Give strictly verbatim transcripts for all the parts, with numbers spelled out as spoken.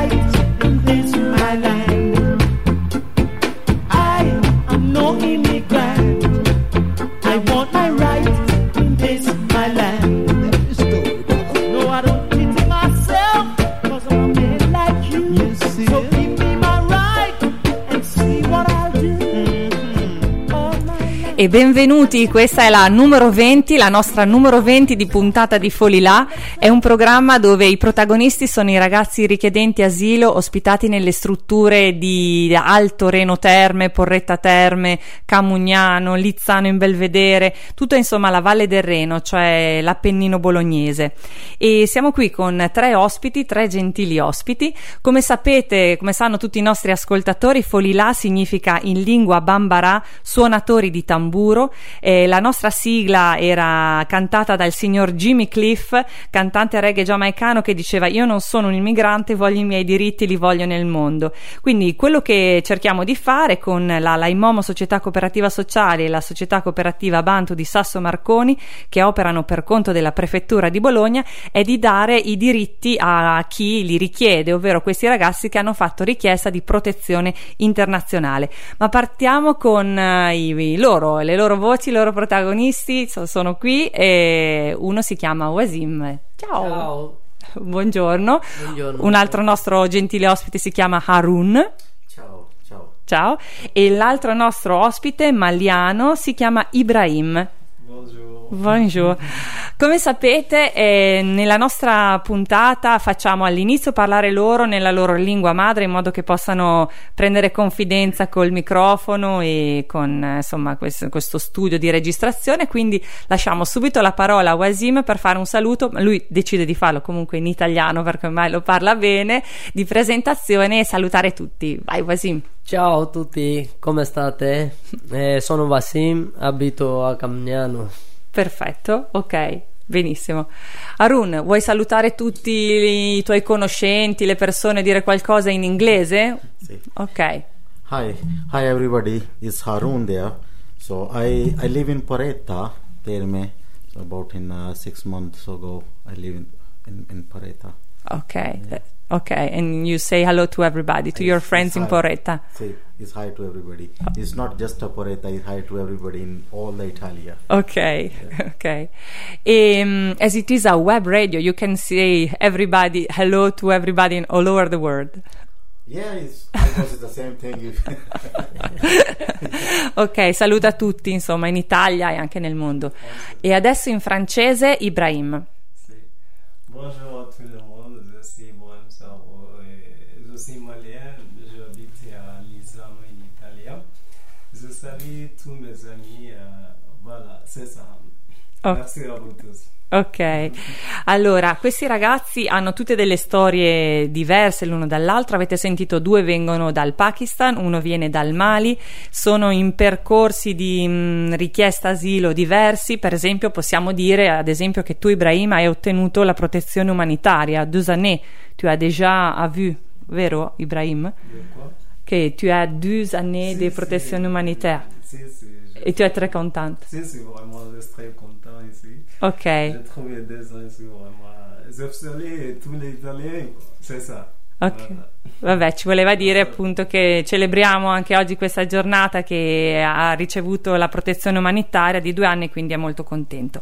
right in this my land. I am no immigrant. I want my right in this my land. No, I don't pity myself, cause I'm a man like you. You see so give me my right and see what I'll do. E benvenuti, questa è la numero venti, la nostra numero venti di puntata di Folilà. È un programma dove i protagonisti sono i ragazzi richiedenti asilo ospitati nelle strutture di Alto Reno Terme, Porretta Terme, Camugnano, Lizzano in Belvedere, tutto insomma la Valle del Reno, cioè l'Appennino bolognese. E siamo qui con tre ospiti, tre gentili ospiti. Come sapete, come sanno tutti i nostri ascoltatori, Folilà significa in lingua bambara suonatori di tamburo. Eh, la nostra sigla era cantata dal signor Jimmy Cliff, cantante reggae giamaicano, che diceva: io non sono un immigrante, voglio i miei diritti, li voglio nel mondo. Quindi quello che cerchiamo di fare con la Laimomo Società Cooperativa Sociale e la Società Cooperativa Bantu di Sasso Marconi, che operano per conto della Prefettura di Bologna, è di dare i diritti a chi li richiede, ovvero questi ragazzi che hanno fatto richiesta di protezione internazionale. Ma partiamo con uh, i, i loro le loro voci, i loro protagonisti sono qui e uno si chiama Wasim. Ciao. Ciao. Buongiorno. Buongiorno. Un altro nostro gentile ospite si chiama Harun. Ciao, ciao. Ciao. E l'altro nostro ospite, maliano, si chiama Ibrahim. Buongiorno. Buongiorno. Come sapete, eh, nella nostra puntata facciamo all'inizio parlare loro nella loro lingua madre, in modo che possano prendere confidenza col microfono e con eh, insomma questo, questo studio di registrazione. Quindi lasciamo subito la parola a Wasim per fare un saluto. Lui decide di farlo comunque in italiano perché ormai lo parla bene, di presentazione, e salutare tutti. Vai Wasim. Ciao a tutti, come state? Eh, sono Wasim, abito a Camugnano. Perfetto, ok, benissimo. Harun, vuoi salutare tutti i tuoi conoscenti, le persone, dire qualcosa in inglese? Sì. Ok. Hi, hi everybody. It's Harun there. So I I live in Porretta, Terme. So about in uh, six months ago, I live in in, in Porretta. Ok. Yeah. Ok, and you say hello to everybody, to I- your it's friends in hi. Porretta. Say it's hi to everybody. It's not just a Porretta. It's hi to everybody in all the Italia. Ok, ok. Um, as it is a web radio, you can say everybody, hello to everybody in all over the world. Yeah, it's almost the same thing. Ok, saluta tutti, insomma, in Italia e anche nel mondo. E adesso in francese, Ibrahim. Bonjour à tout le monde, je suis Bohem Saro et je suis malien, j'habite à Lizzano in Italia. Je salue tous mes amis, euh, voilà, c'est ça. Oh. Merci à vous tous. Ok, allora questi ragazzi hanno tutte delle storie diverse l'uno dall'altro. Avete sentito, due vengono dal Pakistan, uno viene dal Mali, sono in percorsi di mh, richiesta asilo diversi. Per esempio possiamo dire ad esempio che tu, Ibrahim, hai ottenuto la protezione umanitaria. Deux années, tu as déjà vu, vero Ibrahim? De quoi? Che tu as deux années Si, di si. protezione umanitaria. Si, si, je- Et tu es très contente. Si, si, vraiment, je suis très content ici. Ok. J'ai trouvé des gens ici, vraiment. J'ai salue tous les Italiens, c'est ça. Ok, Voilà. vabbè, ci voleva dire appunto che celebriamo anche oggi questa giornata, che ha ricevuto la protezione umanitaria di due anni, quindi è molto contento.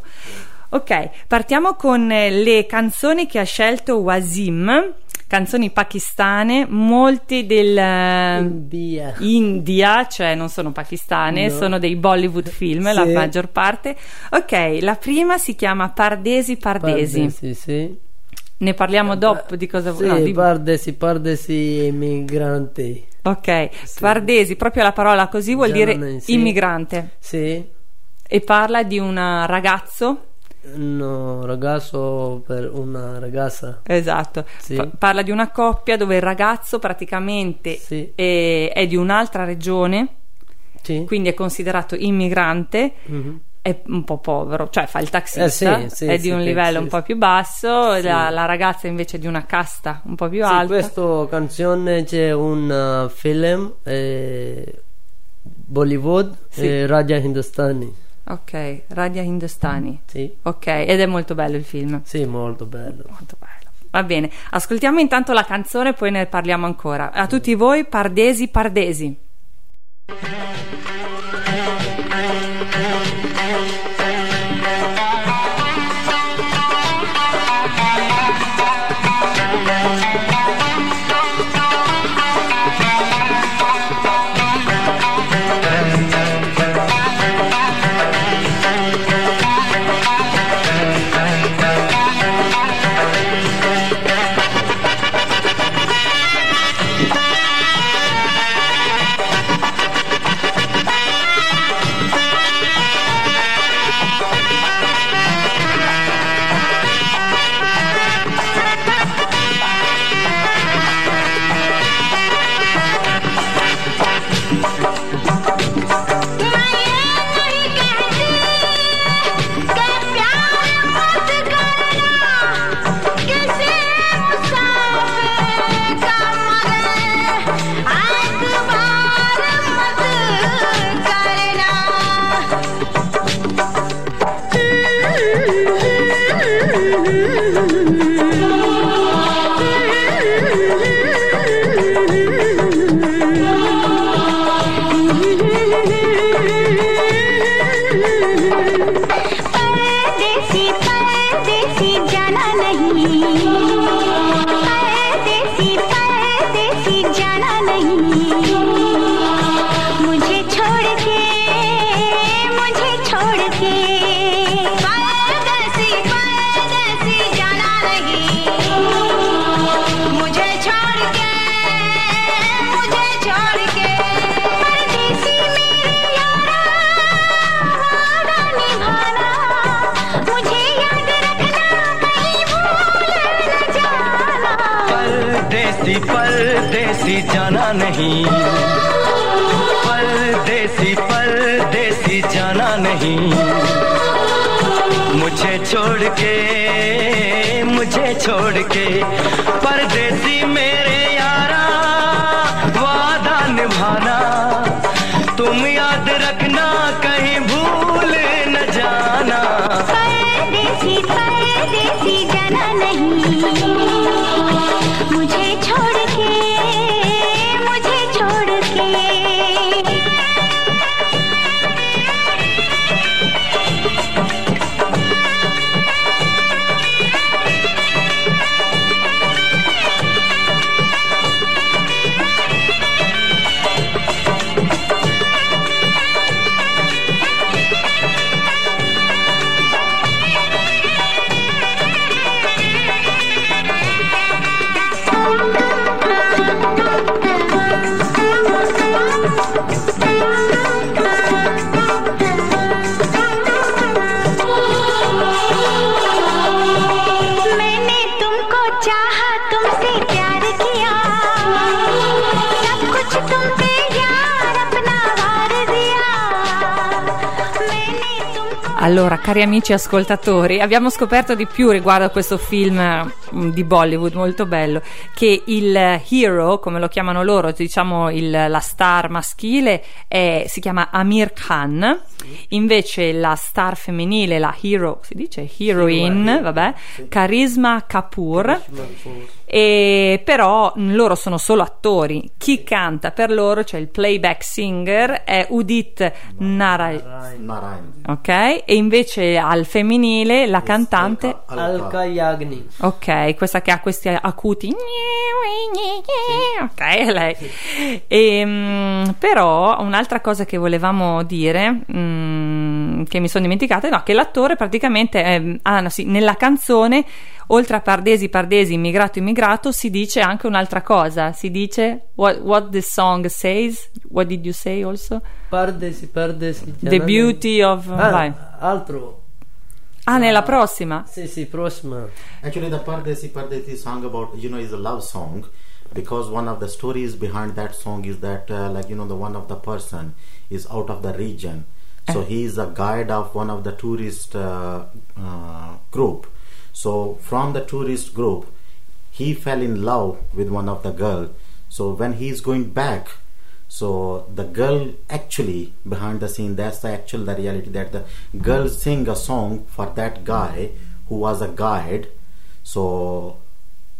Ok, partiamo con eh, le canzoni che ha scelto Wasim, canzoni pakistane, molti del eh, India. India, cioè non sono pakistane, No. sono dei Bollywood film, la Sì. maggior parte. Ok, la prima si chiama Pardesi Pardesi. Pardesi, sì. Ne parliamo dopo di cosa Sì, no, di- pardesi, pardesi immigranti. Ok, Pardesi, proprio la parola così vuol Già dire non è- sì. immigrante, Sì. e parla di un ragazzo, No, ragazzo per una ragazza. esatto, Sì. Pa- parla di una coppia dove il ragazzo praticamente Sì. è, è di un'altra regione, Sì. quindi è considerato immigrante, Mhm. è un po' povero, cioè fa il taxista, Eh, sì, sì, è di sì, un sì, livello sì, un po' sì. più basso, Sì. la, la ragazza invece è di una casta un po' più Sì, alta. questa canzone c'è un uh, film eh, Bollywood, Sì. eh, Raja Hindustani. Ok, Radia Hindustani. Sì, Ok, ed è molto bello il film. sì, molto bello. Molto bello. Va bene, ascoltiamo intanto la canzone, poi ne parliamo ancora. A tutti voi, Pardesi Pardesi. परदेसी जाना नहीं, परदेसी परदेसी जाना नहीं, मुझे छोड़ के मुझे छोड़ के परदेसी मेरे यारा वादा निभाना, तुम याद रखना कहीं भूल न जाना। परदेसी परदेसी जाना नहीं, मुझे छोड़ के मुझे छोड़ के। Allora, cari amici ascoltatori, abbiamo scoperto di più riguardo a questo film di Bollywood molto bello, che il hero, come lo chiamano loro, diciamo il, la star maschile è, si chiama Amir Khan, invece la star femminile, la hero, si dice heroine, vabbè, Karisma Kapoor. E però loro sono solo attori. Chi canta per loro, cioè il playback singer, è Udit Narayan, ok? E invece al femminile la cantante Alka Yagnik. Ok, questa che ha questi acuti, ok, è lei. E, mh, però un'altra cosa che volevamo dire, mh, che mi sono dimenticata, no, che l'attore praticamente è, ah, no, sì, nella canzone, oltre a Pardesi Pardesi, immigrato immigrato, si dice anche un'altra cosa, si dice what, what the song says, what did you say also? Pardesi Pardesi, the beauty of ah, vai. altro. Ah, nella prossima? Sì, sì, prossima. Actually, the Pardesi Pardesi song about, you know, is a love song, because one of the stories behind that song is that, uh, like, you know, the one of the person is out of the region, so eh. he is a guide of one of the tourist uh, uh, group. So from the tourist group, he fell in love with one of the girl. So when he is going back, so the girl actually behind the scene, that's the actual the reality, that the girl sing a song for that guy who was a guide. So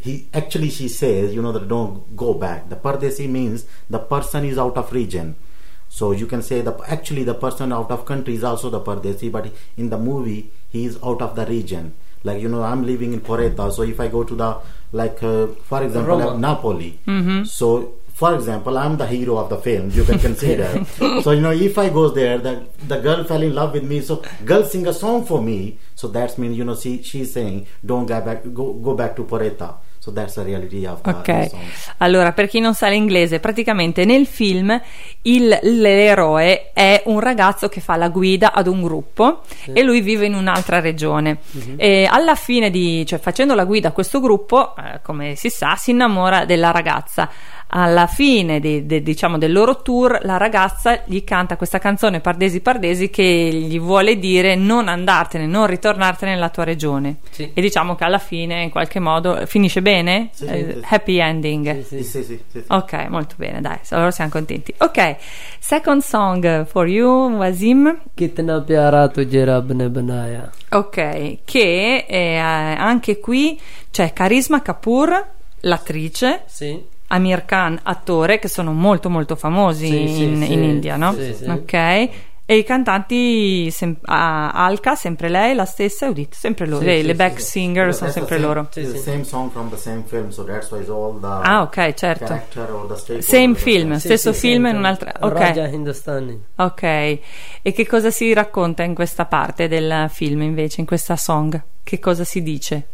he actually she says, you know, that don't go back. The Pardesi means the person is out of region. So you can say the actually the person out of country is also the Pardesi, but in the movie he is out of the region. Like, you know, I'm living in Poretta, so if I go to the, like, uh, for example, Roma. Napoli, Mm-hmm. so for example, I'm the hero of the film, you can consider. So, you know, if I goes there, the the girl fell in love with me, so girl sing a song for me, so that's mean, you know, she she's saying, don't go back, go, go back to Poretta. So that's the reality of the, Ok, the song. allora per chi non sa l'inglese, praticamente nel film il, l'eroe è un ragazzo che fa la guida ad un gruppo e lui vive in un'altra regione. Mhm. E alla fine di, cioè facendo la guida a questo gruppo, eh, come si sa, si innamora della ragazza. Alla fine di, de- diciamo del loro tour, la ragazza gli canta questa canzone Pardesi Pardesi che gli vuole dire non andartene, non ritornartene nella tua regione. Sì. E diciamo che alla fine in qualche modo finisce bene. Sì, sì, Eh, sì. happy ending. Sì, Sì, sì. sì, sì, sì. Ok, molto bene, dai, allora siamo contenti. Ok, second song for you, Wasim. कितना प्यारा तुझे रब ने बनाया. Ok, che eh, anche qui c'è Karisma Kapoor, l'attrice, Sì. Amir Khan, attore, che sono molto molto famosi Sì, sì, in, sì. in India, no? Sì, sì. Ok, e i cantanti, sem- ah, Alka, sempre lei, la stessa, Udit, sempre loro, Sì, le, sì, le sì, back sì. singer But sono that's the sempre same, loro. Sì, it's the sì. same song from the same film, so that's why it's all the Ah, ok, certo. character or the stakeholder. Same film, Sì, stesso sì, film sì, in sì. un'altra. Ok. Raja Hindustani. Ok, e che cosa si racconta in questa parte del film invece, in questa song? Che cosa si dice?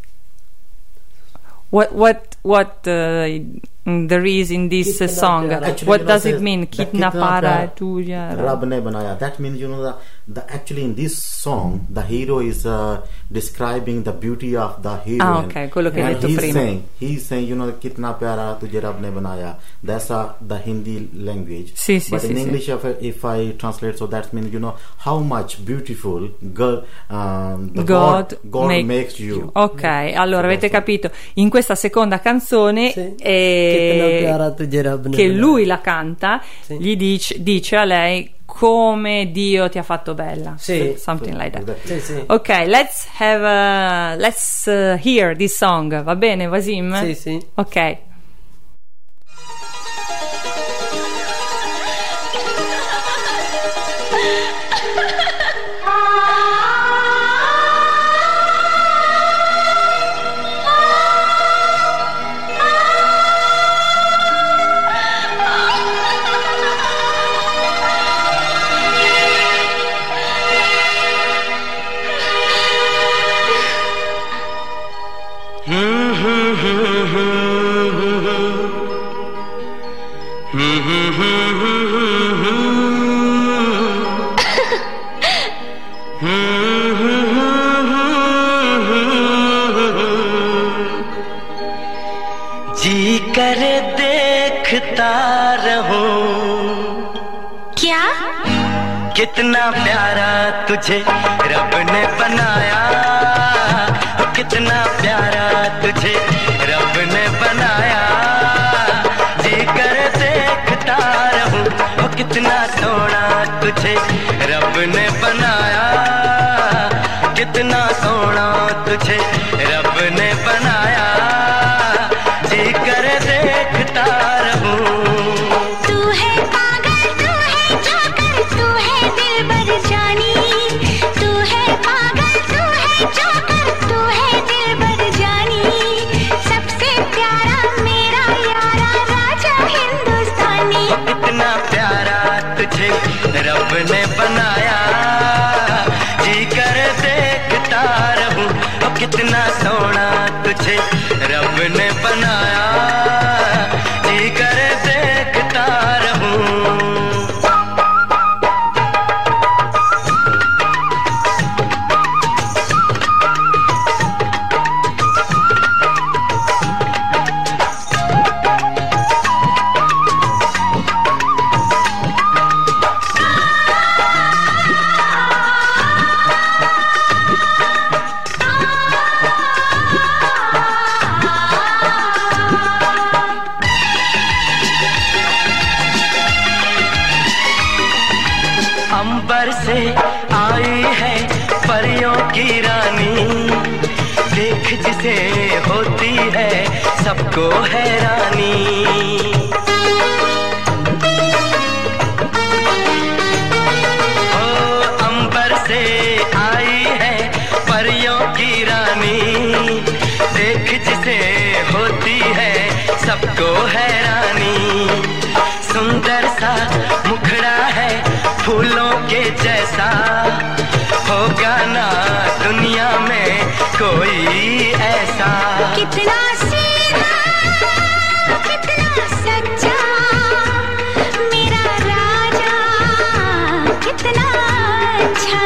What what what uh, there is in this uh, Kitna song? pyara. Actually, What you know, does it says mean? that Kitna kitna para pyara tuya. Rab ne banaya. That means, you know, the, the actually in this song the hero is uh, describing the beauty of the heroine. Ah, ok, quello che hai And detto he's prima. saying, he's saying, you know, kitna pyara tujhe Rab ne banaya. That's uh, the Hindi language. Sì, sì, But sì, in sì. English, if I, if I translate, so that means, you know, how much beautiful God, um, the God, God, God make makes you. Ok, allora So avete that's capito, in questa seconda canzone Sì. eh, Kitna pyara tujhe rab ne che banaya. lui la canta, Sì. gli dice, dice a lei come Dio ti ha fatto bella. Sì. Something like that. Exactly. Sì, sì. Ok, let's have a, let's uh, hear this song. Va bene, Wasim? Sì, sì. Ok. जी करे देखता रहूं क्या? कितना प्यारा तुझे रब ने बनाया, कितना प्यारा तुझे रब ने बनाया, जी कर देखता रहूं, ओ कितना सोना तुझे रब ने बनाया, कितना सोना तुझे रब ने बनाया, जी कर देखता रहूं। तू है पागल, तू है जोकर, तू है दिलबर जानी। तू है पागल, तू है जोकर, तू है दिलबर जानी। सबसे प्यारा मेरा यारा राजा हिंदुस्तानी। कितना प्यारा तुझे रब ने बनाया, जी कर देखता रहूं, ओ कितना सोना तुझे रब ने बनाया, जी कर देखता रहूं। अंबर से आई है परियों की रानी, देख जिसे होती है सबको हैरानी। ओ अंबर से आई है परियों की रानी, देख जिसे होती है सबको हैरानी। सुंदर सा मुखड़ा है फूलों के जैसा, होगा ना दुनिया में कोई ऐसा। कितना सीधा कितना सच्चा मेरा राजा, कितना अच्छा।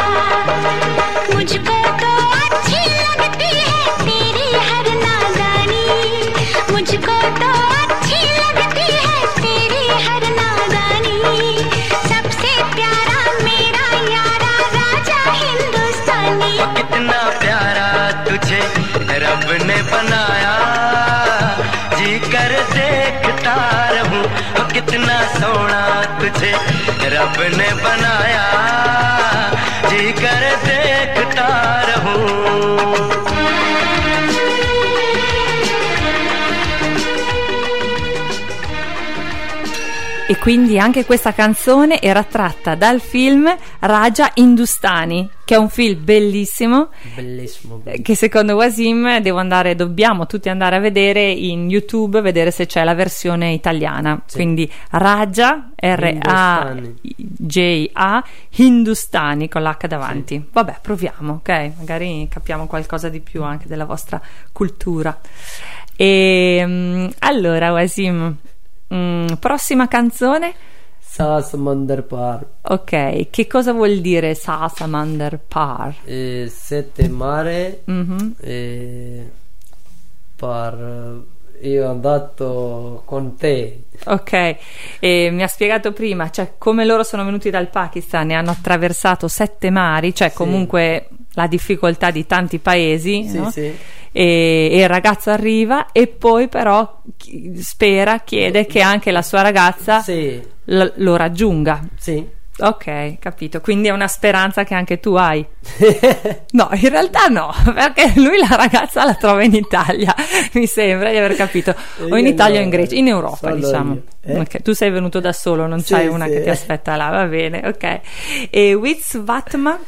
मुझको तो अच्छी लगती है तेरी हर नादानी, मुझको तो अच्छी लगती है तेरी हर नादानी। सबसे प्यारा मेरा यारा राजा हिंदुस्तानी। ओ कितना प्यारा तुझे रब ने बनाया, जी कर देखता रहूं। ओ कितना सोना तुझे रब ने बनाया, जी कर देखता रहूं। E quindi anche questa canzone era tratta dal film Raja Hindustani, che è un film bellissimo, Bellissimo, eh, bellissimo. che secondo Wasim devo andare, dobbiamo tutti andare a vedere in YouTube, vedere se c'è la versione italiana. Sì. Quindi Raja, R A J A, Hindustani con l'H davanti. Vabbè, proviamo, ok? Magari capiamo qualcosa di più anche della vostra cultura. E mm, allora Wasim, mm, prossima canzone. Sa Samandar Par. Ok, che cosa vuol dire Sa Samandar Par? Eh, sette mare. Mhm. eh, par io andato con te. Ok, e mi ha spiegato prima, cioè come loro sono venuti dal Pakistan e hanno attraversato sette mari, cioè Sì. comunque la difficoltà di tanti paesi, Sì, no? sì. E, e il ragazzo arriva e poi però chi- spera, chiede che anche la sua ragazza Sì, l- lo raggiunga. sì. Ok, capito, quindi è una speranza che anche tu hai. No, in realtà no, perché lui la ragazza la trova in Italia, mi sembra di aver capito, o in Io Italia o no, in Grecia, in Europa solo diciamo. io, eh? Ok, tu sei venuto da solo, non Sì, c'hai una sì. che ti aspetta là, va bene, ok. E With Vatma,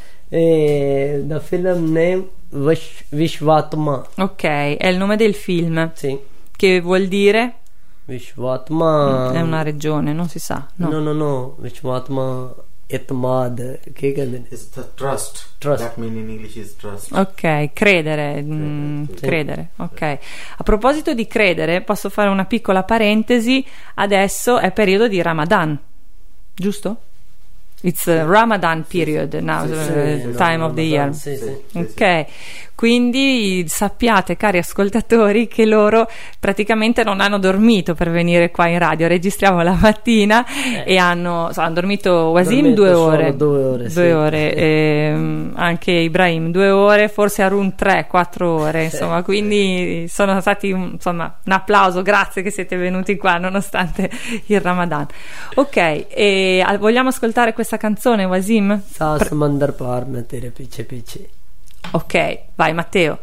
Eh, the film name Vish- Vishvatma. ok, è il nome del film, Sì. che vuol dire? Vishvatma. È una regione, non si sa, no. No, no, no. Vishvatma Itmad. Che ਕਹਿੰਦੇ ਨੇ? It's the trust. Trust. That mean in English is trust. Ok, credere, mm, Sì. credere, ok. A proposito di credere, posso fare una piccola parentesi, adesso è periodo di Ramadan, giusto? It's a Ramadan period now, Sì, uh, Sì, time no, of the Ramadan, year. Sì, sì. Sì, sì. Ok, quindi sappiate, cari ascoltatori, che loro praticamente non hanno dormito per venire qua in radio. Registriamo la mattina Eh. e hanno, so, hanno dormito Wasim Dormito due solo ore, due ore, due sì. ore, ehm, anche Ibrahim due ore, forse Arun tre, quattro ore, insomma, quindi sono stati un- insomma un applauso, grazie che siete venuti qua nonostante il Ramadan. Ok, e ah, vogliamo ascoltare questa canzone, Wasim? Sa Samandar Par mein tere piche piche. Ok, vai Matteo.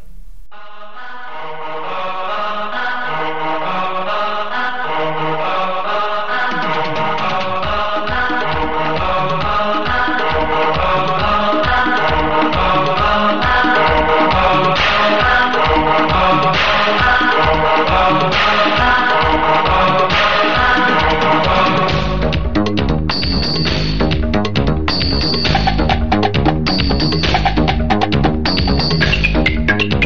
Thank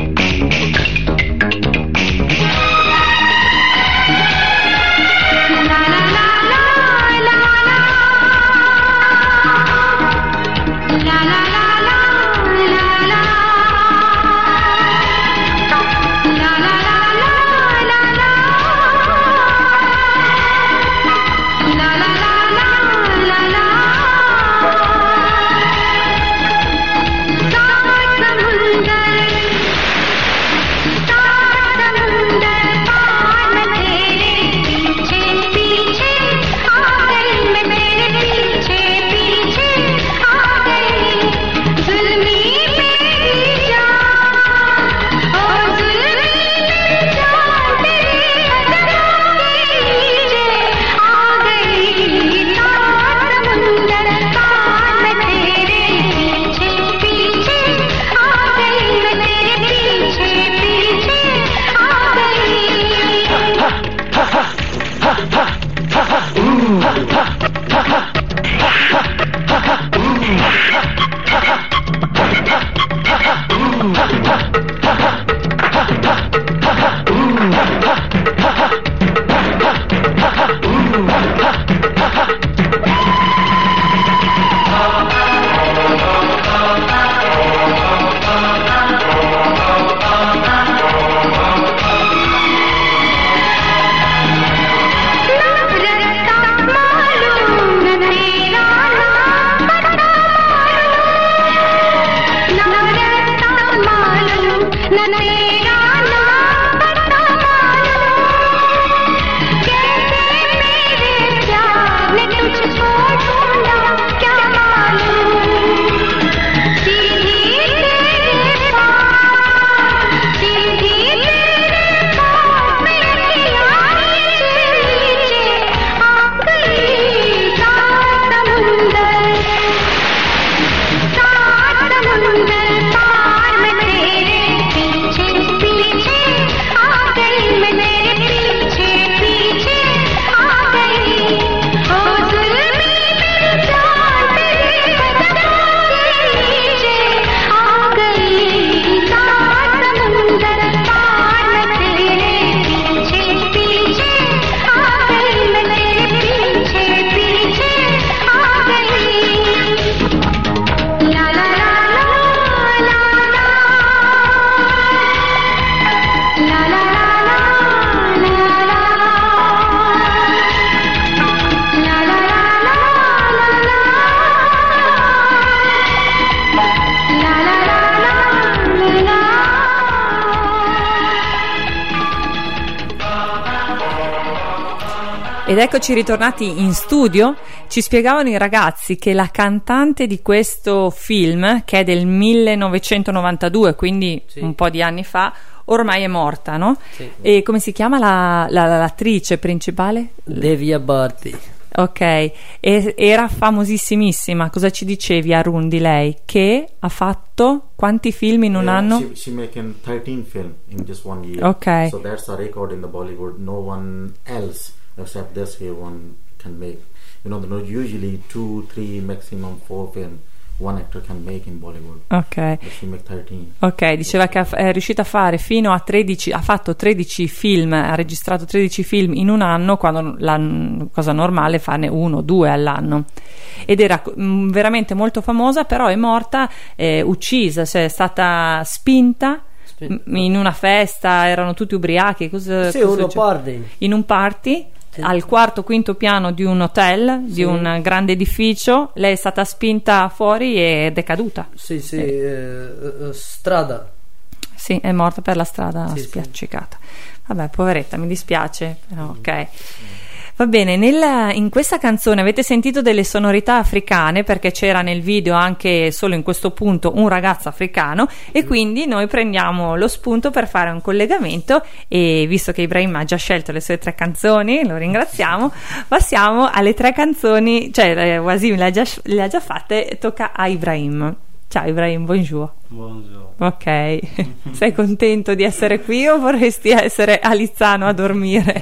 Ed eccoci ritornati in studio. Ci spiegavano i ragazzi che la cantante di questo film, che è del millenovecentonovantadue, quindi Sì. un po' di anni fa, ormai è morta, no? Sì. E come si chiama la, la- l'attrice principale? Devia Bharti. Ok, e era famosissimissima. Cosa ci dicevi, Arun, di lei? Che ha fatto quanti film in un Yeah, anno? She, she making thirteen film in just one year. Okay. So that's a record in the Bollywood. No one else except this here one can make. You know, there are usually two, three, maximum four film one actor can make in Bollywood. Ok. But she make thirteen. Ok, diceva che ha- è riuscita a fare fino a tredici, ha fatto tredici film, ha registrato tredici film in un anno, quando la n- cosa normale è farne uno o due all'anno. Ed era mm, veramente molto famosa, però è morta, eh, uccisa, cioè è stata spinta Spinta. m- in una festa, erano tutti ubriachi. Cosa, Sì, cosa uno succede? party. In un party. Sì. Al quarto quinto piano di un hotel, di Sì. un grande edificio, lei è stata spinta fuori ed è caduta. Sì, sì, eh, eh, strada. Sì, è morta per la strada, Sì, sì. spiaccicata. Vabbè, poveretta, mi dispiace, però ok. Va bene, nella- in questa canzone avete sentito delle sonorità africane, perché c'era nel video anche solo in questo punto un ragazzo africano, e quindi noi prendiamo lo spunto per fare un collegamento, e visto che Ibrahim ha già scelto le sue tre canzoni, lo ringraziamo, passiamo alle tre canzoni, cioè eh, Wasim le ha già, le ha già fatte, tocca a Ibrahim. Ciao Ibrahim, bonjour. Buongiorno. Ok, sei contento di essere qui o vorresti essere a Lizzano a dormire?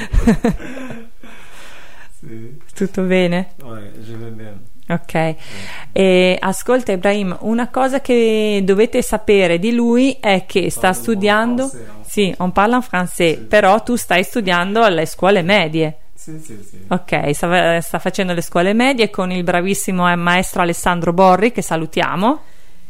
Sì. Tutto bene? Ouais, je vais bien. Ok. E ascolta Ibrahim, una cosa che dovete sapere di lui è che sta Parlo studiando, français, hein. sì, on parle en français, Sì. però tu stai studiando alle scuole medie. Sì, sì, sì. Ok, sta, sta facendo le scuole medie con il bravissimo eh, maestro Alessandro Borri, che salutiamo.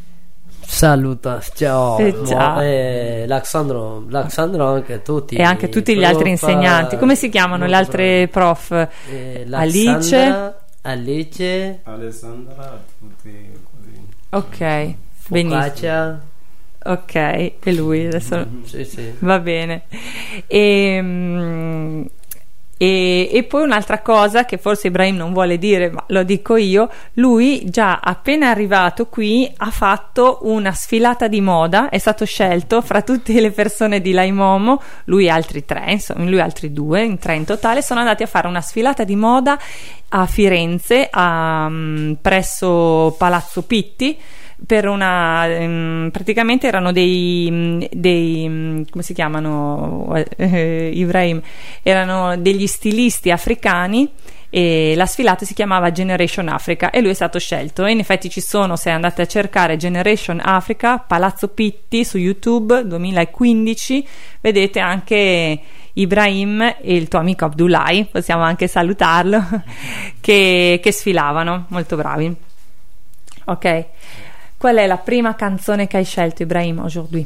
Saluta, ciao. Eh, ciao. Eh, L'Alexandro, l'Alexandro anche tutti. E anche tutti gli prof, altri insegnanti. Come si chiamano le molto altre prof? bravi. Eh, Alice. l'Alexandra, Alice, Alessandra, tutti così. Ok, benissimo. Focaccia. Ok, e lui adesso Sì, sì. va bene. E, mm, e, e poi un'altra cosa che forse Ibrahim non vuole dire, ma lo dico io: lui già appena arrivato qui ha fatto una sfilata di moda, è stato scelto fra tutte le persone di Laimomo, lui e altri tre, insomma lui e altri due, in tre in totale, sono andati a fare una sfilata di moda a Firenze, a, mm, presso Palazzo Pitti, per una ehm, praticamente erano dei, mm, dei mm, come si chiamano, eh, Ibrahim, erano degli stilisti africani, e la sfilata si chiamava Generation Africa e lui è stato scelto. E in effetti ci sono, se andate a cercare Generation Africa Palazzo Pitti su YouTube duemilaquindici, vedete anche Ibrahim e il tuo amico Abdullahi, possiamo anche salutarlo, che, che sfilavano, molto bravi. Ok, qual è la prima canzone che hai scelto, Ibrahim, aujourd'hui?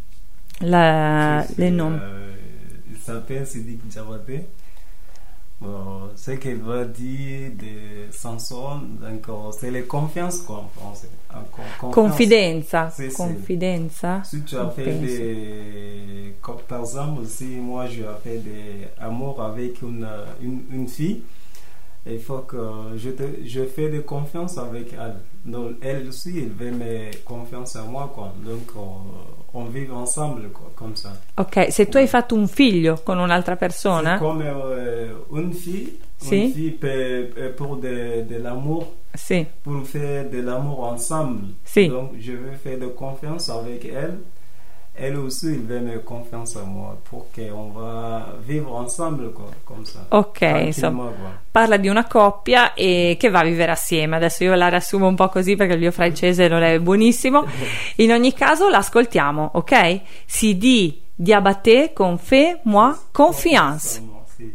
La, Sì, sì, le nomi. euh, il s'appelle Sidik Diabaté. Bon, ce qu'il va dire de Samson, donc euh, c'est les confiances quoi en français. En con- confiance. Confidenza, Sì, sì. confidenza. Si tu as fait Penso. des. Comme par exemple, si moi je fait des amours avec une, une, une fille, il faut que je, te, je fais de confiance avec elle. Donc elle aussi, elle veut me confiance à moi, quoi. Donc euh, on vit ensemble, quoi, comme ça. Ok, se tu hai fatto un figlio con un'altra persona, C'est comme euh, une fille, Si. une fille peut, peut- pour de, de l'amour, sì, pour faire de l'amour ensemble. Si. Donc je veux faire de confiance avec elle. Elle aussi, elle veut me confiance à moi pour qu'on va vivre ensemble, quoi, comme ça. ok, Tranquillement, insomma, quoi. parla di una coppia e che va a vivere assieme. Adesso io la riassumo un po' così perché il mio francese non è buonissimo. In ogni caso l'ascoltiamo, ok? Si dit Diabaté con Fais moi confiance. Sì.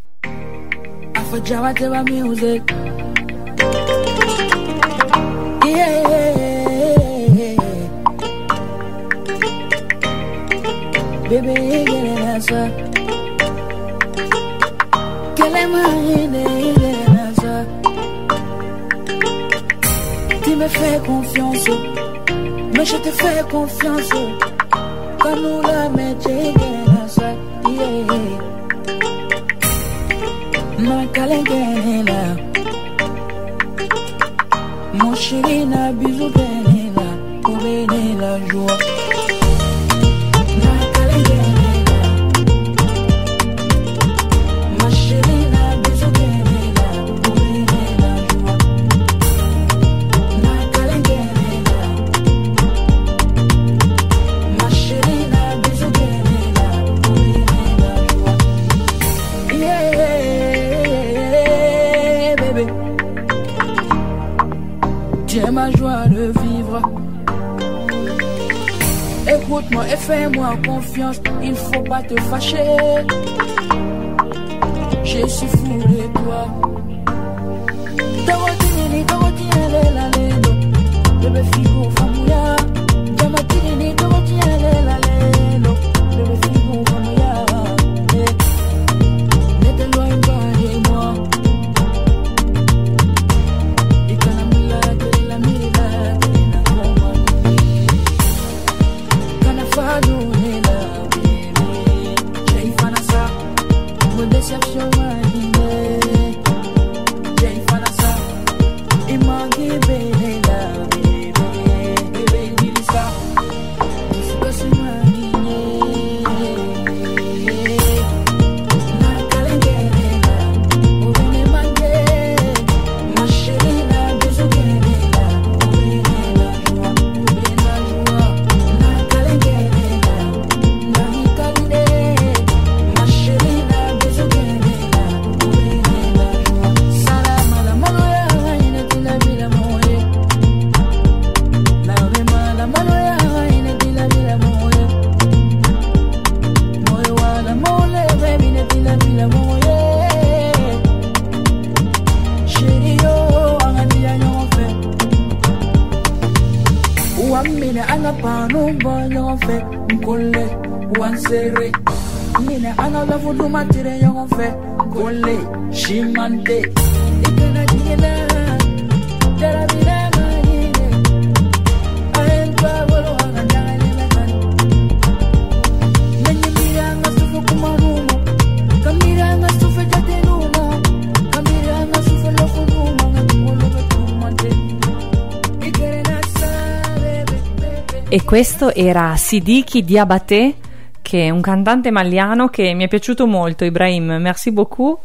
Afro Java Java music. Yeah. Baby, get an answer. Quelle est ma haine, get an answer. Tu me fais confiance, mais je te fais confiance. Quand nous la mettons, get an answer. Yeah. na kalengenela, mon chéri na bisou benela, pour bénir la joie. Na kalengenela, ma chérie na bisou benela, pour bénir la joie. Na kalengenela, ma chérie na bisou benela, pour bénir la joie. Yeah, bébé, tu es ma joie de vivre. Écoute-moi et fais-moi confiance, il faut pas te fâcher. Je suis fou de toi. Dorothy, Dorothy, elle est la lendo. Bébé figo, famouya. Dorothy, Dorothy, elle est la lendo. Bébé figo, famouya. Ne t'éloigne pas de moi. Et quand la mila, la mila, la mila. Fado nela, baby. Jay Fanasa, mon déception marine. Jay Fanasa, il manque bella, baby. Baby, dis ça, c'est pas si marine. Na kalengenela, oh bene mangue, ma chérie na bisou benela, oh bene la joie, oh bene la joie. Na kalengenela, na hikaline, ma chérie na bisou benela, oh bene la joie. Salama la maloya, ine tila bila moye. La bema la maloya, ine tila bila moye. Moye wala mole, baby, ine tila bila moye. Chérie yo, angani ya nyonfe. Uamine ana pano bonyo fe nkole wansere. Mine ana la vudu matire yon fe nkole shimante. Ikana jina dara bila manine. Aentwa bolo angandale mekan. Nenye mira ngasufu kumarumo. Kamira ngasufu jatenumo. Kamira ngasufu lofunumo. Ngatumo betumante. Ikere nasa bebe bebe. E questo era Sidiki Diabaté, che è un cantante maliano che mi è piaciuto molto. Ibrahim, merci beaucoup.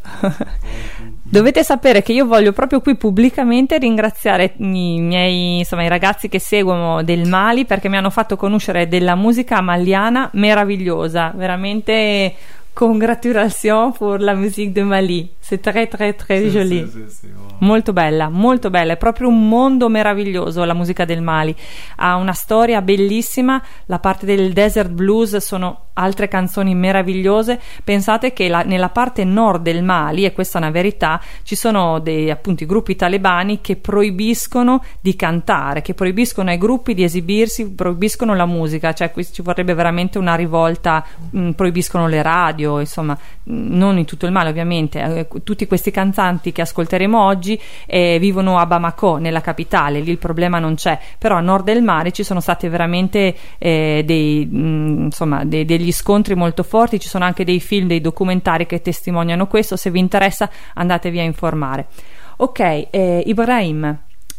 Dovete sapere che io voglio proprio qui pubblicamente ringraziare i miei, insomma, i ragazzi che seguono del Mali, perché mi hanno fatto conoscere della musica maliana meravigliosa, veramente. Congratulations pour la musique de Mali, c'est très très très Sì, joli. sì, sì, sì, wow. Molto bella, molto bella, è proprio un mondo meraviglioso la musica del Mali, ha una storia bellissima, la parte del desert blues sono altre canzoni meravigliose. Pensate che la, nella parte nord del Mali, e questa è una verità, ci sono dei appunto i gruppi talebani che proibiscono di cantare, che proibiscono ai gruppi di esibirsi, proibiscono la musica, cioè qui ci vorrebbe veramente una rivolta, mh, proibiscono le radio, insomma, mh, non in tutto il Mali ovviamente. Eh, tutti questi cantanti che ascolteremo oggi eh, vivono a Bamako, nella capitale, lì il problema non c'è, però a nord del Mali ci sono stati veramente eh, dei, mh, insomma, dei, degli scontri molto forti, ci sono anche dei film, dei documentari che testimoniano questo. Se vi interessa andatevi a informare. Ok, eh, Ibrahim,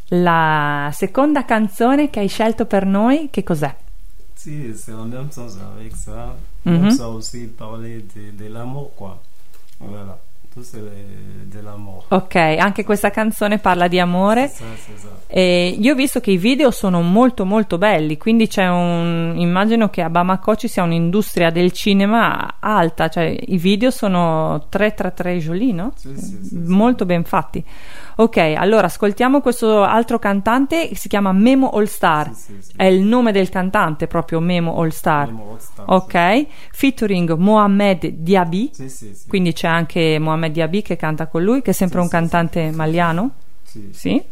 la seconda canzone che hai scelto per noi che cos'è? Si, c'est en même sens avec ça. Mhm. Comme ça aussi parler de, de l'amour, quoi. Voilà. Tout c'est le- de l'amour. Ok, anche questa canzone parla di amore. C'est ça, c'est ça. E io ho visto che i video sono molto molto belli, quindi c'è un, immagino che a Bamako ci sia un'industria del cinema alta, cioè i video sono tre tre tre joli, no? Sì, sì, sì, sì. Molto ben fatti. Ok, allora ascoltiamo questo altro cantante che si chiama Memo All Star. Sì, sì, sì. È il nome del cantante proprio, Memo All Star. Memo All Star, Ok, featuring Mohamed Diaby. Sì, sì, sì. Quindi c'è anche Mohamed Diaby che canta con lui, che è sempre Sì, un sì, cantante maliano. Sì. Sì.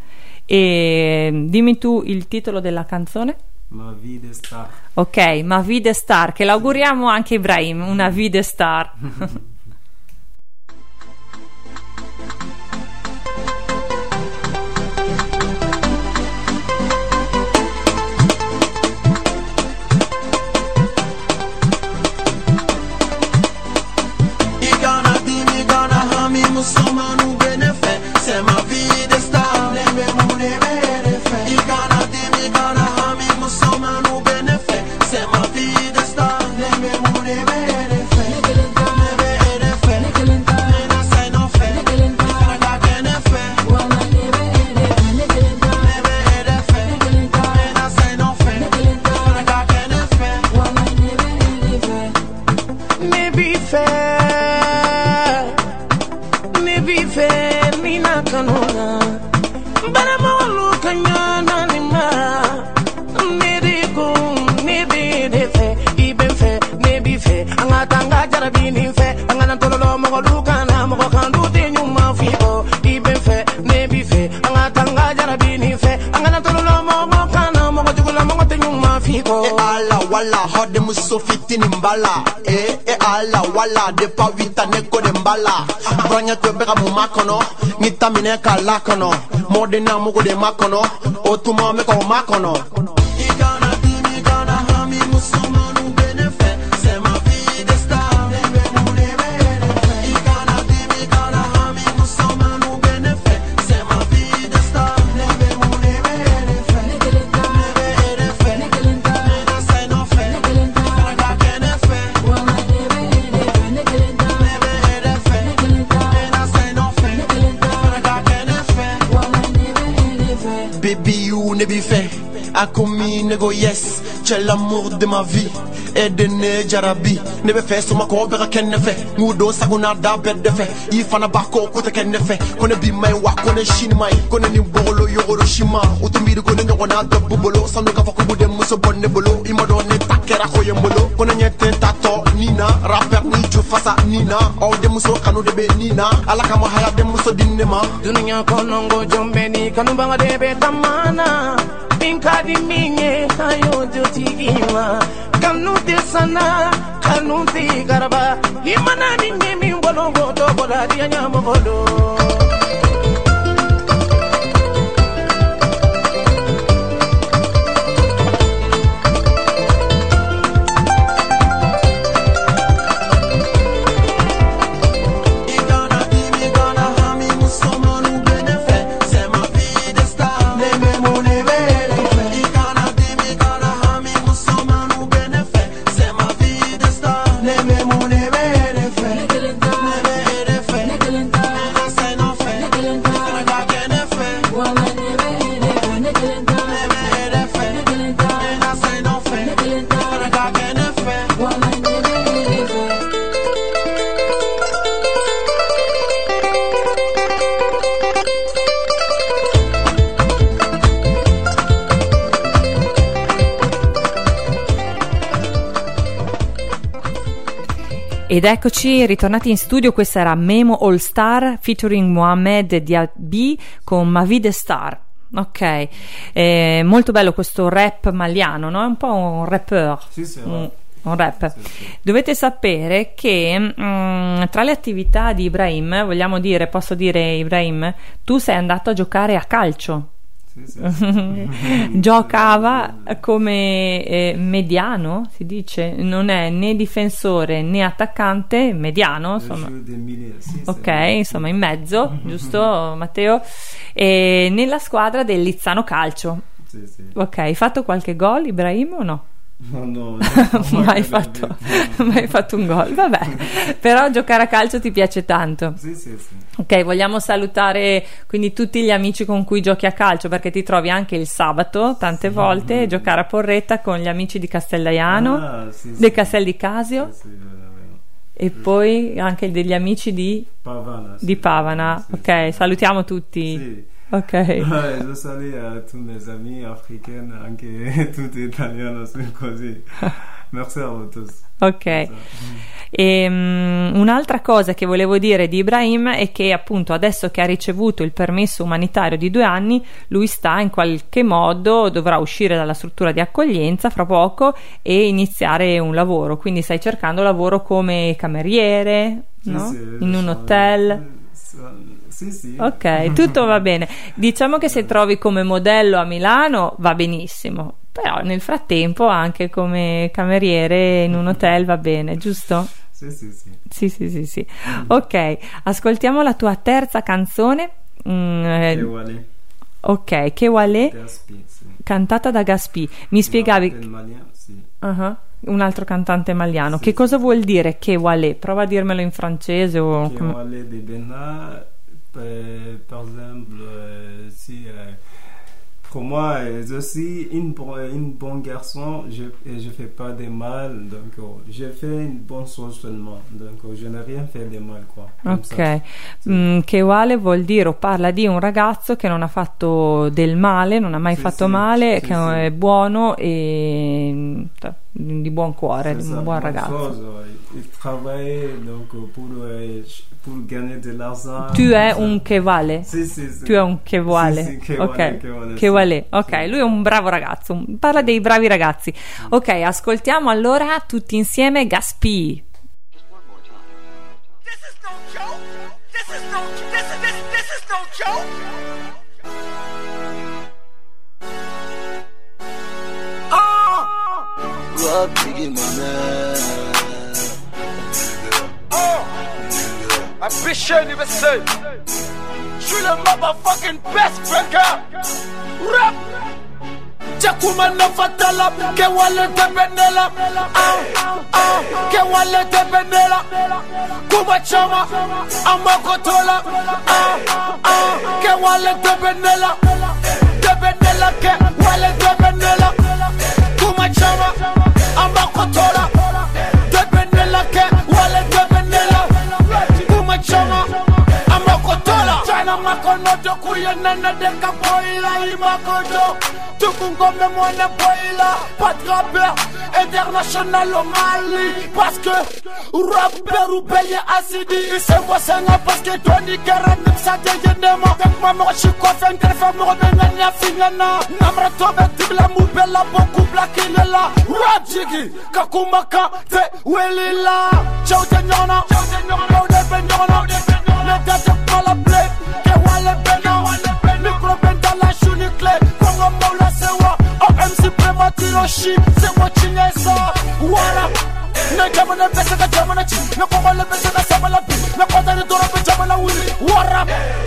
E dimmi tu il titolo della canzone. Ma vie de star. Ok, Ma Vide Star, che l'auguriamo anche a Ibrahim, una Vide Star. You gonna be me, gonna hum me, Musoma. fe ni na kanuna bana mo kanyana ni ma ni di ku ni bi de fe ibe fe ne bi fe anga tanga jarabi ni fe anga na tolo mo lu kana mo kan du de nyuma fi o ibe fe ne bi fe anga tanga jarabi ni fe anga na tolo mo kana mo jugula mo te nyuma fi o e ala wala hode muso fitini mbala e e ala wala de pa vita neko de mbala branya to bega mu makono ngita mine kala kono mode na mugo de makono otuma me ko makono igana dimi gana hami musumanu benefe c'est ma vie de star igana dimi gana hami musumanu benefe c'est ma vie de star Baby, you ne bi fait, a commis nego yes, c'è l'amour de ma vie, e de ne jarabi, ne be fait, suma ko bera ken ne fait, ngudo saguna da bed de fait, i fana bako kuta ken ne fait, kone bi mai wa kone shin mai, kone ni bolo yoro shima, utumiri kone nyogo na da bubolo, sanu ka faku bude muso bonne bolo, imodo ne takera ko yembolo, kone nyete tato nina, rapper ni ju fasa nina, o de muso kanu de be nina, ala kama haya de muso dinema, dunia konongo jombeni kanu banga de be tamana pinka di minye ayo jotigima kanu de sana kanu de garba imana ni mi ngolo godo bola di nyamo godo. Ed eccoci ritornati in studio, questa era Memo All Star featuring Mohamed Diaby con Ma Vie Star. Ok, eh, molto bello questo rap maliano, no? È un po' un rapper. Sì, sì, un, un rap. Sì, sì. Dovete sapere che mh, tra le attività di Ibrahim, vogliamo dire, posso dire Ibrahim, tu sei andato a giocare a calcio. Giocava come eh, mediano, si dice, non è né difensore né attaccante, mediano, insomma. Ok, insomma in mezzo, giusto Matteo? E nella squadra del Lizzano Calcio. Sì, sì. Ok, hai fatto qualche gol Ibrahim o no? No, no, mai fatto, mai fatto un gol, vabbè, però giocare a calcio ti piace tanto. Sì, sì, sì. Ok, vogliamo salutare quindi tutti gli amici con cui giochi a calcio, perché ti trovi anche il sabato tante volte a mm-hmm. giocare a Porretta con gli amici di Castellaiano, ah, sì, sì. del Castel di Casio, sì, sì, e poi anche degli amici di Pavana, di Pavana. Sì, ok, sì. Salutiamo tutti. Sì. Ok. Je salue a tous mes amis africains, anche tutti italiani così. Merci a voi tutti. Ok. E, um, un'altra cosa che volevo dire di Ibrahim è che appunto adesso che ha ricevuto il permesso umanitario di due anni, lui sta in qualche modo, dovrà uscire dalla struttura di accoglienza fra poco e iniziare un lavoro, quindi stai cercando lavoro come cameriere, sì, no? Sì, in un hotel. Sì, sì. Ok, tutto va bene. Diciamo che se trovi come modello a Milano va benissimo, però nel frattempo anche come cameriere in un hotel va bene, giusto? Sì, sì, sì. Sì, sì, sì, sì. Ok, ascoltiamo la tua terza canzone. Mm, Che Wale. Ok, Che Wale, Gaspi, sì. Cantata da Gaspi. Mi spiegavi... No, Malian, sì. Uh-huh. Un altro cantante maliano. Sì, che sì. cosa vuol dire Che Wale? Prova a dirmelo in francese o... Che Wale de Bena. Euh, par exemple, euh, si euh, pour moi, euh, je suis une, bo- une bonne garçon, je et je fais pas de mal, donc oh, je fais une bonne chose seulement, donc oh, je n'ai rien fait de mal, quoi. Comme ça. Ok, mm, che uguale vuol dire o parla di un ragazzo che non ha fatto del male, non ha mai Sì, fatto sì, male, sì, che sì. è buono e mm, di buon cuore, C'est di ça, un buon bonne ragazzo. chose, il, il travaille donc oh, pour, euh, pour gagner de l'argent. Tu è comme ça. un che vale. Sì, sì, sì. Tu è un che vale. Sì, sì, che ok, vale, che vale, che sì. vale. Ok, Sì. lui è un bravo ragazzo. Parla dei bravi ragazzi. Ok, ascoltiamo allora tutti insieme Gaspi. This is no joke. This is no this is this this is no joke. Ah! Rob Biggie, my man. Oh! Ambition universel. Je suis le motherfucking best breaker. Rap! Jakumana fatala, que wale te benela, ah, ah, que wale te benela, Kuma chama, amakotola, ah, ah, que wale te benela, te benela, que wale te benela, Kuma chama, amakotola, te benela, que wale te benela, Kuma chama, amakotola, China makono dokuye nana deka boila imakoto. Tukungome mwana boila, pas de rappeur international au Mali. Parce que rappeur ou payé acidi. C'est moi c'est un parce que Tony Kerem ça dégainema. Avec ma mort je suis coiffé, une femme me revenant ni à finana. Namra tobe tibla moubela beaucoup blakila. Rap jiggy, kakumaka te welila. Ciao te nyona, ciao te nyona, de benyona, de benyona. Ne date pas la plaie, que wale bena, micro benda la chouni clé. Kongo moula sewa, O M C prematiro shit, c'est moi chinesa. Wara, ne jamana pesa ka jamana chi, ne kongo le pesa ka sabala pi, ne konta ne dora pe jamana wili. Wara,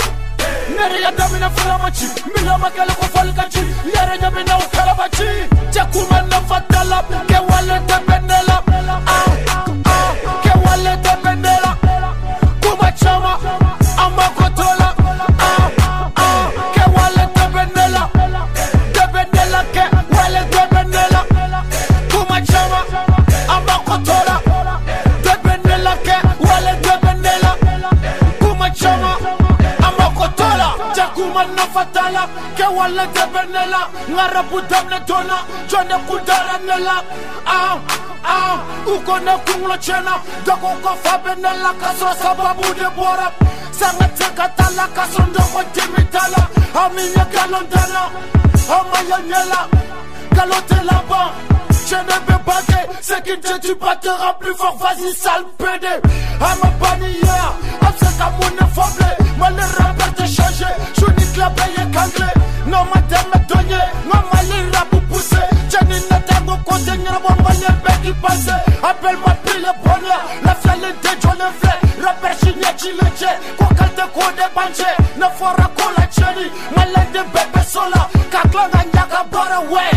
nere ya damina filamachi, mila makale ko falkachi, yere nyamina ukalabachi. Jakuma na fatala, ke wale te benela, ah ah, ke wale te benela, kuma chama, amakotola, ah ah, ke wale te benela, te benela, ke wale te benela, kuma chama, amakotola, te benela, ke wale te benela, kuma chama, amakotola. Jakuma na fatala, ke wale te benela, ngara putam ne tona, jone kudara nela, ah ah, uko ne kunglo chena, dako ko fa benela, kaso sababu de bora, sanga teka tala, kaso ndoko timitala, aminya galondana, amaya nyela, galote là-bas. Je ne peux pas que ce qui te tue pas te rend plus fort, vas-y sale pédé. À ma bannière, à ce qu'amour ne faible, moi le rappeur te changé, je nique la paye canglé. Non ma terre me donné, non ma lire la pour pousser. Jenny ne t'aime au côté, n'y a pas mal de bêtes qui passent. Appelle-moi pile le bonheur, la fiale de John le fait. Rappeur chigné qui le tient, quoi qu'elle te court des banjés. Ne fera qu'on la Jenny, malin de bébé sola. Kakla n'yaka bara ouais.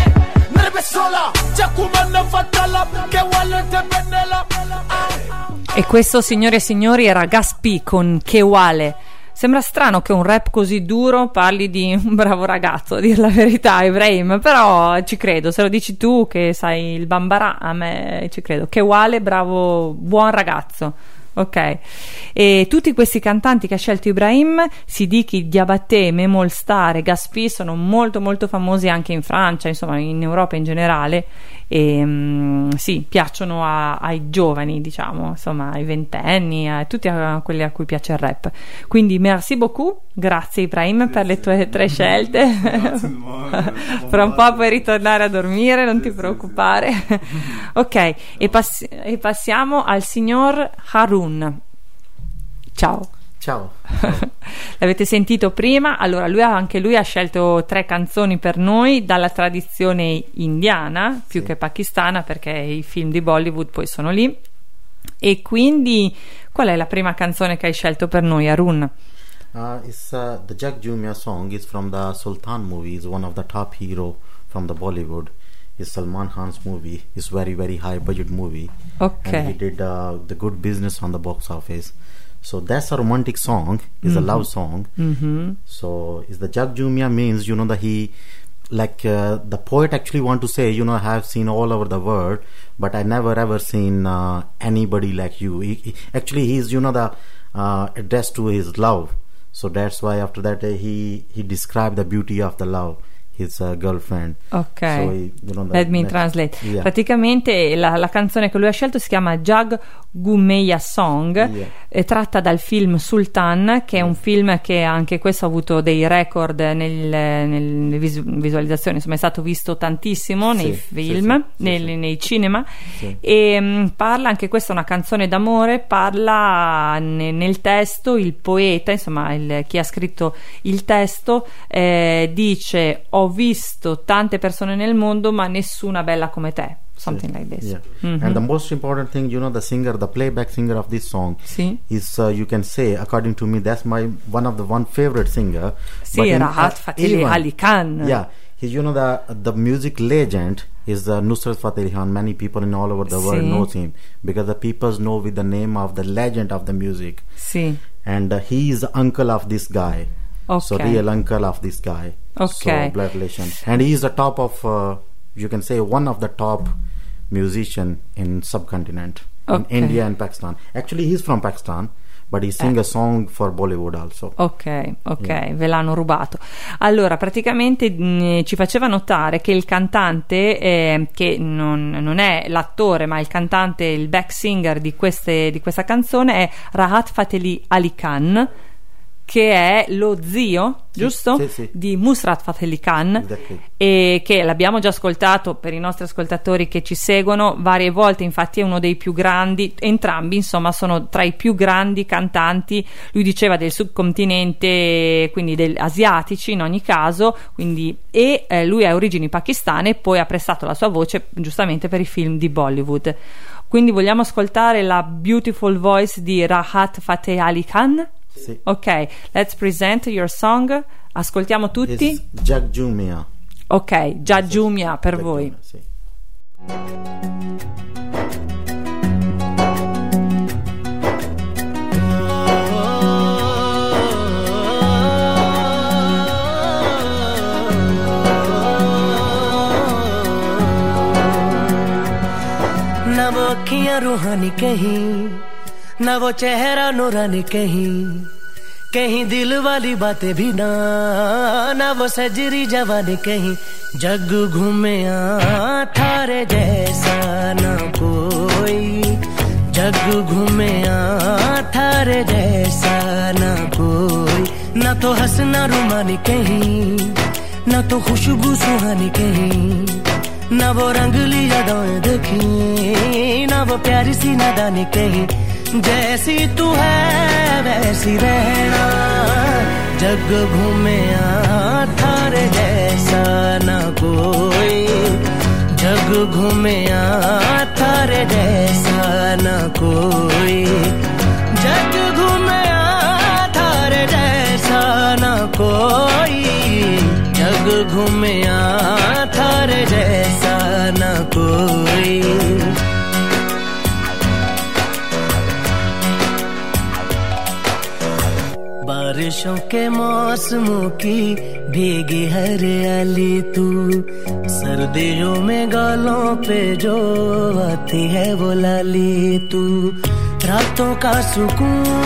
E questo, signore e signori, era Gaspi con Che Wale. Sembra strano che un rap così duro parli di un bravo ragazzo, a dir la verità, Ibrahim, però ci credo, se lo dici tu che sai il bambara, a me ci credo. Che Wale, bravo, buon ragazzo. Ok, e tutti questi cantanti che ha scelto Ibrahim, Sidiki, Diabaté, Memol Star e Gaspi, sono molto molto famosi anche in Francia, insomma in Europa in generale, e um, sì, piacciono a, ai giovani, diciamo, insomma ai ventenni, a tutti a quelli a cui piace il rap. Quindi merci beaucoup, grazie Ibrahim per le tue tre scelte. Fra un po' puoi ritornare a dormire, non ti preoccupare. Ok, e, pass- e passiamo al signor Harun. Ciao. Ciao. L'avete sentito prima? Allora lui ha, anche lui ha scelto tre canzoni per noi dalla tradizione indiana più Sì. che pakistana, perché i film di Bollywood poi sono lì. E quindi qual è la prima canzone che hai scelto per noi, Harun? Uh, it's uh, the Jack Jumia song is from the Sultan movie. Is one of the top hero from the Bollywood. It's Salman Khan's movie. It's very very high budget movie. Okay. And he did uh, the good business on the box office. So that's a romantic song. It's mm-hmm. a love song. Mm-hmm. So is the Jack Jumia means you know that he like uh, the poet actually want to say, you know, I have seen all over the world, but I never ever seen uh, anybody like you. He, he, actually, he's, you know, the uh, addressed to his love. So that's why after that uh, he he described the beauty of the love, his uh, girlfriend. Ok, so he, you know, let me next, translate. Yeah. Praticamente la, la canzone che lui ha scelto si chiama Jag Gumeya Song, Yeah. è tratta dal film Sultan, che è un film che anche questo ha avuto dei record nel, nelle visu- visualizzazioni, insomma è stato visto tantissimo Sì, nei sì, film, sì, sì, nel- sì. nei cinema, Sì. e mh, parla, anche questa è una canzone d'amore, parla ne- nel testo, il poeta, insomma il- chi ha scritto il testo eh, dice: ho visto tante persone nel mondo ma nessuna bella come te, something like this. Yeah. Mhm. And the most important thing, you know, the singer, the playback singer of this song Sì. is, uh, you can say, according to me, that's my one of the one favorite singer. Sì, But in- Rahat uh, Fateh even- Ali Khan. Yeah, he's, you know, the the music legend is uh, Nusrat Fateh Ali Khan. Many people in all over the world Sì. knows him because the people know with the name of the legend of the music. Sì. And uh, he is uncle of this guy. So Okay. real uncle of this guy. Okay. So blood relation. And he is the top of, uh, you can say, one of the top musician in subcontinent. Okay. In India and Pakistan. Actually, he's from Pakistan, but he sing Eh. a song for Bollywood also. Ok, ok, Yeah. ve l'hanno rubato. Allora, praticamente mh, ci faceva notare che il cantante, eh, che non, non è l'attore, ma il cantante, il back singer di, queste, di questa canzone è Rahat Fateh Ali Khan, che è lo zio, Sì, giusto? sì, sì. Di Nusrat Fateh Ali Khan, Exactly. e che l'abbiamo già ascoltato per i nostri ascoltatori che ci seguono varie volte, infatti è uno dei più grandi, entrambi insomma sono tra i più grandi cantanti, lui diceva del subcontinente, quindi del, asiatici in ogni caso, quindi, e eh, lui ha origini pakistane e poi ha prestato la sua voce giustamente per i film di Bollywood. Quindi vogliamo ascoltare la beautiful voice di Rahat Fateh Ali Khan? Sì. Ok, let's present your song. Ascoltiamo tutti. It's Jagjumia. Ok, Jajumia per voi. Jagjumia, sì. ना वो अखियां रूहानी कहीं, ना वो चेहरा नूरानी कहीं, कहीं दिल वाली बातें भी ना, ना वो सजरी जवानी कहीं, जग घूमे थारे जैसा ना कोई, जग घूमे थारे जैसा ना कोई, ना तो हंसना रुमानी कहीं, ना तो खुशबू सुहानी कहीं, ना वो रंगली यादें देखी, ना वो प्यारी सी नादानी कहीं, जैसी तू है वैसी रहना, जग घूमे थारे जैसा ना कोई, जग घूमे थारे जैसा ना कोई, जग घूमे थारे जैसा ना कोई, जग घूमे थारे जैसा ना कोई। बारिशों के मौसमों की भीगी हरियाली तू, सर्दियों में गालों पे जो आती है वो लाली तू, रातों का सुकून,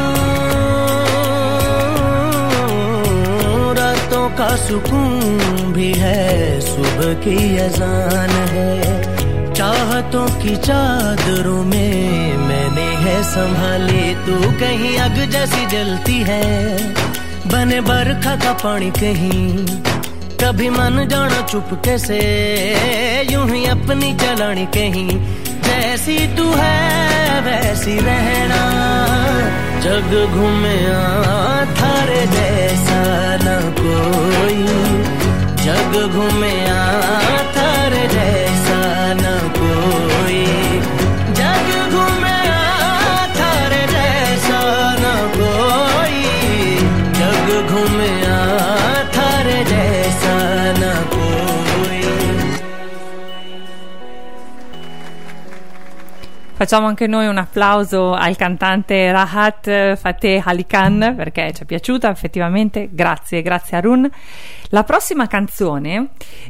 रातों का सुकून भी है, सुबह की अजान है, चाहतों की चादरों में मैंने है संभाली, तू कहीं आग जैसी जलती है, बने बरखा का पानी कहीं, कभी मन जाना चुपके से, यूं ही अपनी चलानी कहीं, जैसी तू है वैसी रहना, जग घूमे थारे जैसा न कोई, जग घूमे थारे जैसा न कोई, जग घूमे थारे जैसा न कोई, जग घूमे थारे जैसा न कोई। Facciamo anche noi un applauso al cantante Rahat Fateh Ali Khan, perché ci è piaciuta effettivamente. Grazie, grazie Arun. La prossima canzone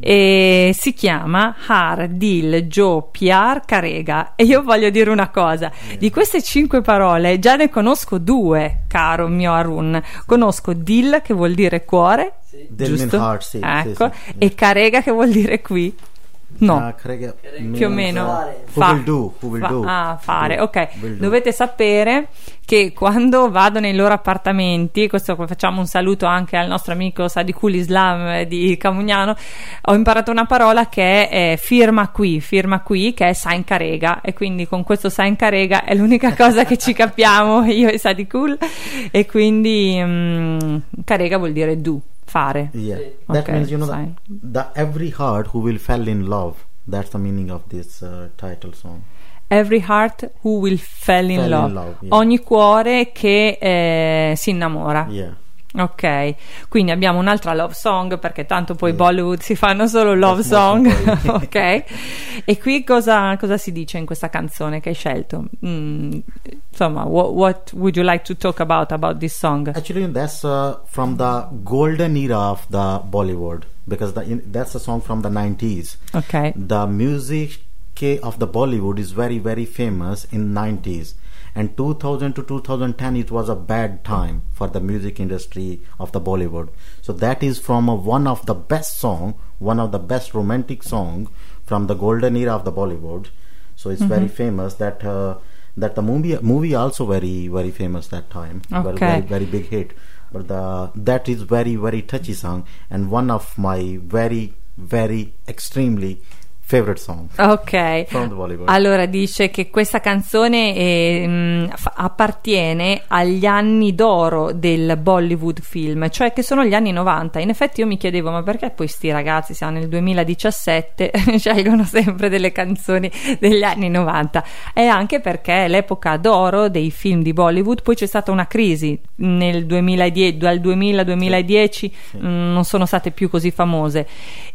eh, si chiama Har Dil Jo Pyar Karega, e io voglio dire una cosa: di queste cinque parole già ne conosco due, caro mio Arun. Conosco Dil, che vuol dire cuore, Dil giusto? mean heart, sì, Ecco, sì, sì. e Karega che vuol dire qui. No, Ah, Karega più o means, meno uh, who will do, who will fa- do. ah, fare, Do, ok. will do. Dovete sapere che quando vado nei loro appartamenti, questo facciamo un saluto anche al nostro amico Sadikul Islam eh, di Camugnano, ho imparato una parola che è eh, firma qui, firma qui, che è Sain Karega, e quindi con questo Sain Karega è l'unica cosa che ci capiamo io e Sadikul, e quindi mm, Karega vuol dire do, fare. Yeah, that Ok, means, you know, fine. the, the every heart who will fall in love. That's the meaning of this uh, title song. Every heart who will fall in Fall in love, love, yeah. ogni cuore che eh, si innamora. Yeah. Ok, quindi abbiamo un'altra love song, perché tanto poi Yeah. Bollywood si fanno solo love That's song. most important. Ok, e qui cosa, cosa si dice in questa canzone che hai scelto? Mm, insomma, what, what would you like to talk about about this song? Actually, that's uh, from the golden era of the Bollywood, because the, in, that's a song from the nineties. Ok, The music of the Bollywood is very, very famous in nineties. And two thousand to two thousand ten, it was a bad time for the music industry of the Bollywood. So that is from a, one of the best song, one of the best romantic song from the golden era of the Bollywood. So it's very famous. That uh, that the movie movie also very very famous that time. Very, Okay. very very big hit. But the that is very very touchy song, and one of my very very extremely favorite song ok. from the Bollywood. Allora dice che questa canzone eh, mh, fa- appartiene agli anni d'oro del Bollywood film, cioè che sono gli anni novanta. In effetti io mi chiedevo, ma perché poi sti ragazzi, siamo nel duemiladiciassette, scelgono sempre delle canzoni degli anni novanta? È anche perché è l'epoca d'oro dei film di Bollywood. Poi c'è stata una crisi nel duemiladieci, dal duemila al duemiladieci, mh, non sono state più così famose,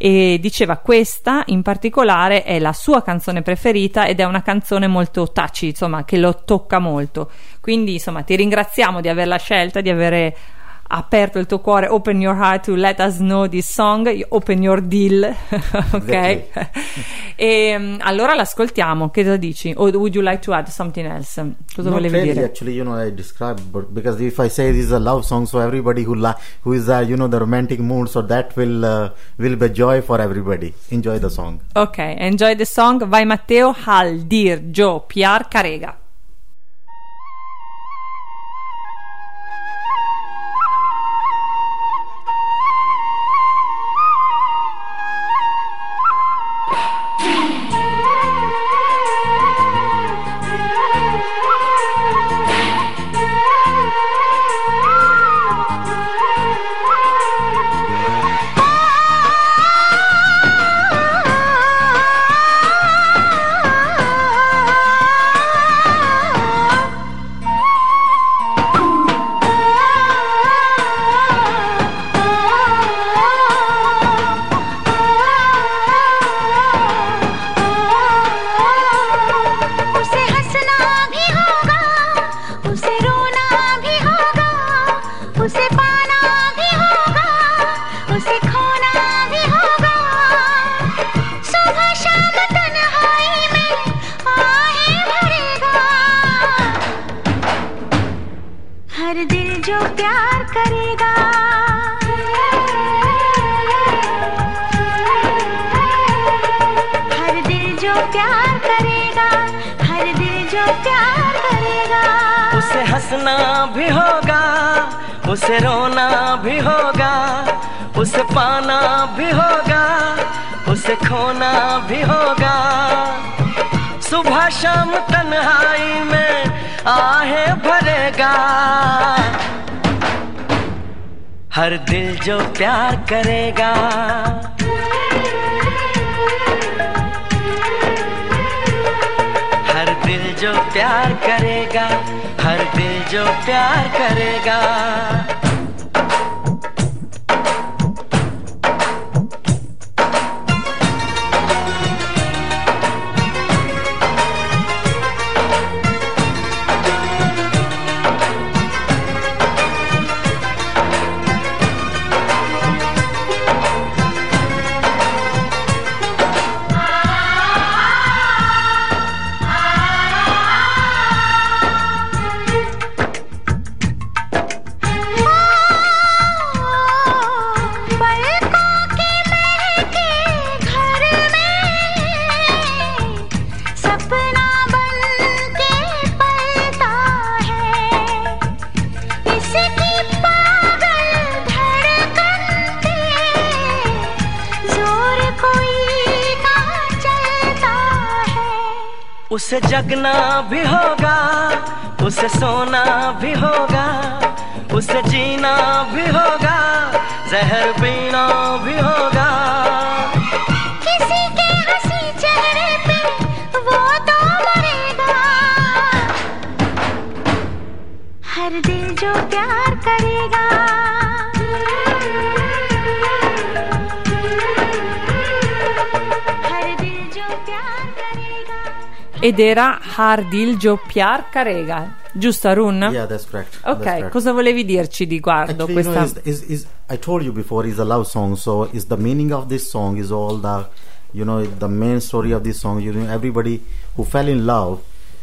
e diceva questa in particolare è la sua canzone preferita, ed è una canzone molto touchy, insomma, che lo tocca molto. Quindi insomma ti ringraziamo di averla scelta, di avere aperto il tuo cuore, open your heart to let us know this song, open your deal. Ok. E um, allora l'ascoltiamo, che cosa dici? O would you like to add something else? Cosa Not volevi really, dire? actually, you know, I describe, but because if I say this is a love song, so everybody who la- who is uh, you know, the romantic mood, so that will uh, will be joy for everybody. Enjoy the song. Ok, enjoy the song. Vai Matteo. Hal Dir Jo Pyar Karega. उसे हंसना भी होगा, उसे रोना भी होगा, उसे पाना भी होगा, उसे खोना भी होगा। सुबह शाम तन्हाई में आहें भरेगा। हर दिल जो प्यार करेगा, हर दिल जो प्यार करेगा, हर दिल जो प्यार करेगा। उसे हंसना भी होगा, उसे रोना भी होगा, उसे पाना भी होगा, उसे खोना भी होगा। सुबह शाम तन्हाई में आहें भरेगा। हर दिल जो प्यार करेगा, हर दिल जो प्यार करेगा, हर दिल जो प्यार करेगा। उसे जगना भी होगा, उसे सोना भी होगा, उसे जीना भी होगा, जहर पीना भी होगा। किसी के हंसी चेहरे पे वो तो मरेगा, हर दिल जो प्यार करेगा। Ed era Hardil Joppiar Carega, giusto Arun? Yeah, that's correct. Ok, That's correct. cosa volevi dirci riguardo Actually, questa? you know, is, is, is, I told you before, it's a love song, so is the meaning of this song is all the, you know, the main story of this song. You know, everybody who fell in love,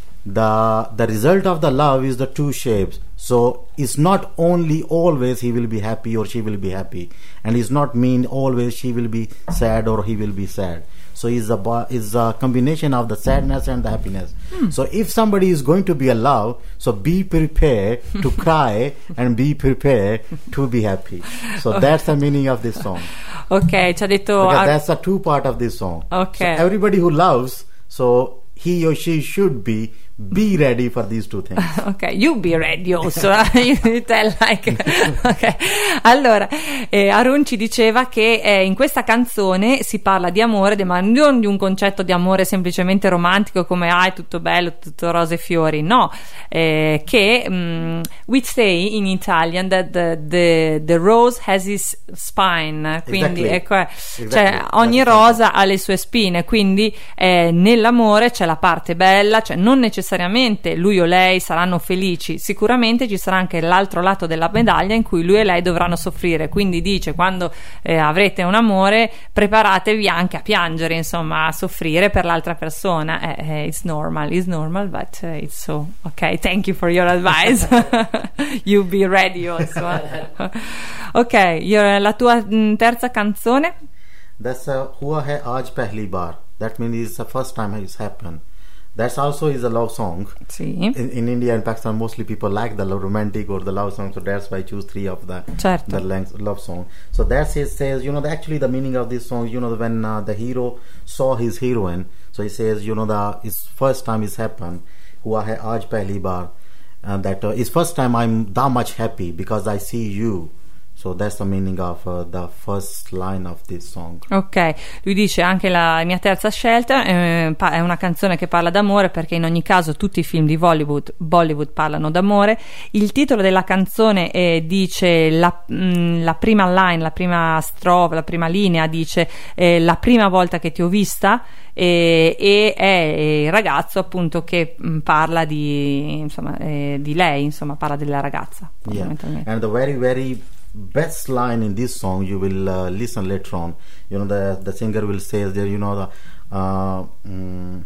the the result of the love is the two shapes. So it's not only always he will be happy or she will be happy, and it's not mean always she will be sad or he will be sad. So it's a bo- it's a combination of the sadness and the happiness. Hmm. So if somebody is going to be in love, so be prepared to cry and be prepared to be happy. So that's the meaning of this song. Ok, ci ha detto Because Ar- that's the two part of this song. Okay. So everybody who loves, so he or she should be be ready for these two things. Ok, you be ready also. You tell like ok. Allora, eh, Arun ci diceva che eh, in questa canzone si parla di amore, de- ma non di un concetto di amore semplicemente romantico come ah è tutto bello, tutto rose e fiori, no, eh, che um, we say in Italian that the, the, the rose has its spine, quindi Exactly. ecco, eh, Exactly. cioè ogni rosa ha le sue spine, quindi eh, nell'amore c'è la parte bella, cioè non necessariamente lui o lei saranno felici, sicuramente ci sarà anche l'altro lato della medaglia in cui lui e lei dovranno soffrire, quindi dice quando eh, avrete un amore preparatevi anche a piangere, insomma a soffrire per l'altra persona. eh, eh, it's normal, it's normal but uh, it's so ok, thank you for your advice. You be ready also. Ok, io- la tua mh, terza canzone. That's uh, Hua Hai Aaj Pehli Baar. That means it's the first time it's happened. That's also is a love song. Sì. In, in India and Pakistan, mostly people like the love romantic or the love song, so that's why I choose three of the Certo. the length love song. So that says, says you know the, actually the meaning of this song. You know when uh, the hero saw his heroine, so he says you know the his first time it's happened. Hua hai aaj pehli baar, and that uh, is first time I'm that much happy because I see you. So that's the meaning of uh, the first line of this song. Ok, lui dice anche la mia terza scelta eh, pa- è una canzone che parla d'amore, perché in ogni caso tutti i film di Bollywood, Bollywood parlano d'amore. Il titolo della canzone eh, dice la, mh, la prima line, la prima strofa, la prima linea dice eh, la prima volta che ti ho vista, e, e è il ragazzo appunto che mh, parla di insomma eh, di lei, insomma parla della ragazza Yeah, fondamentalmente. and the very very best line in this song you will uh, listen later on. You know the the singer will say there you know the uh, mm,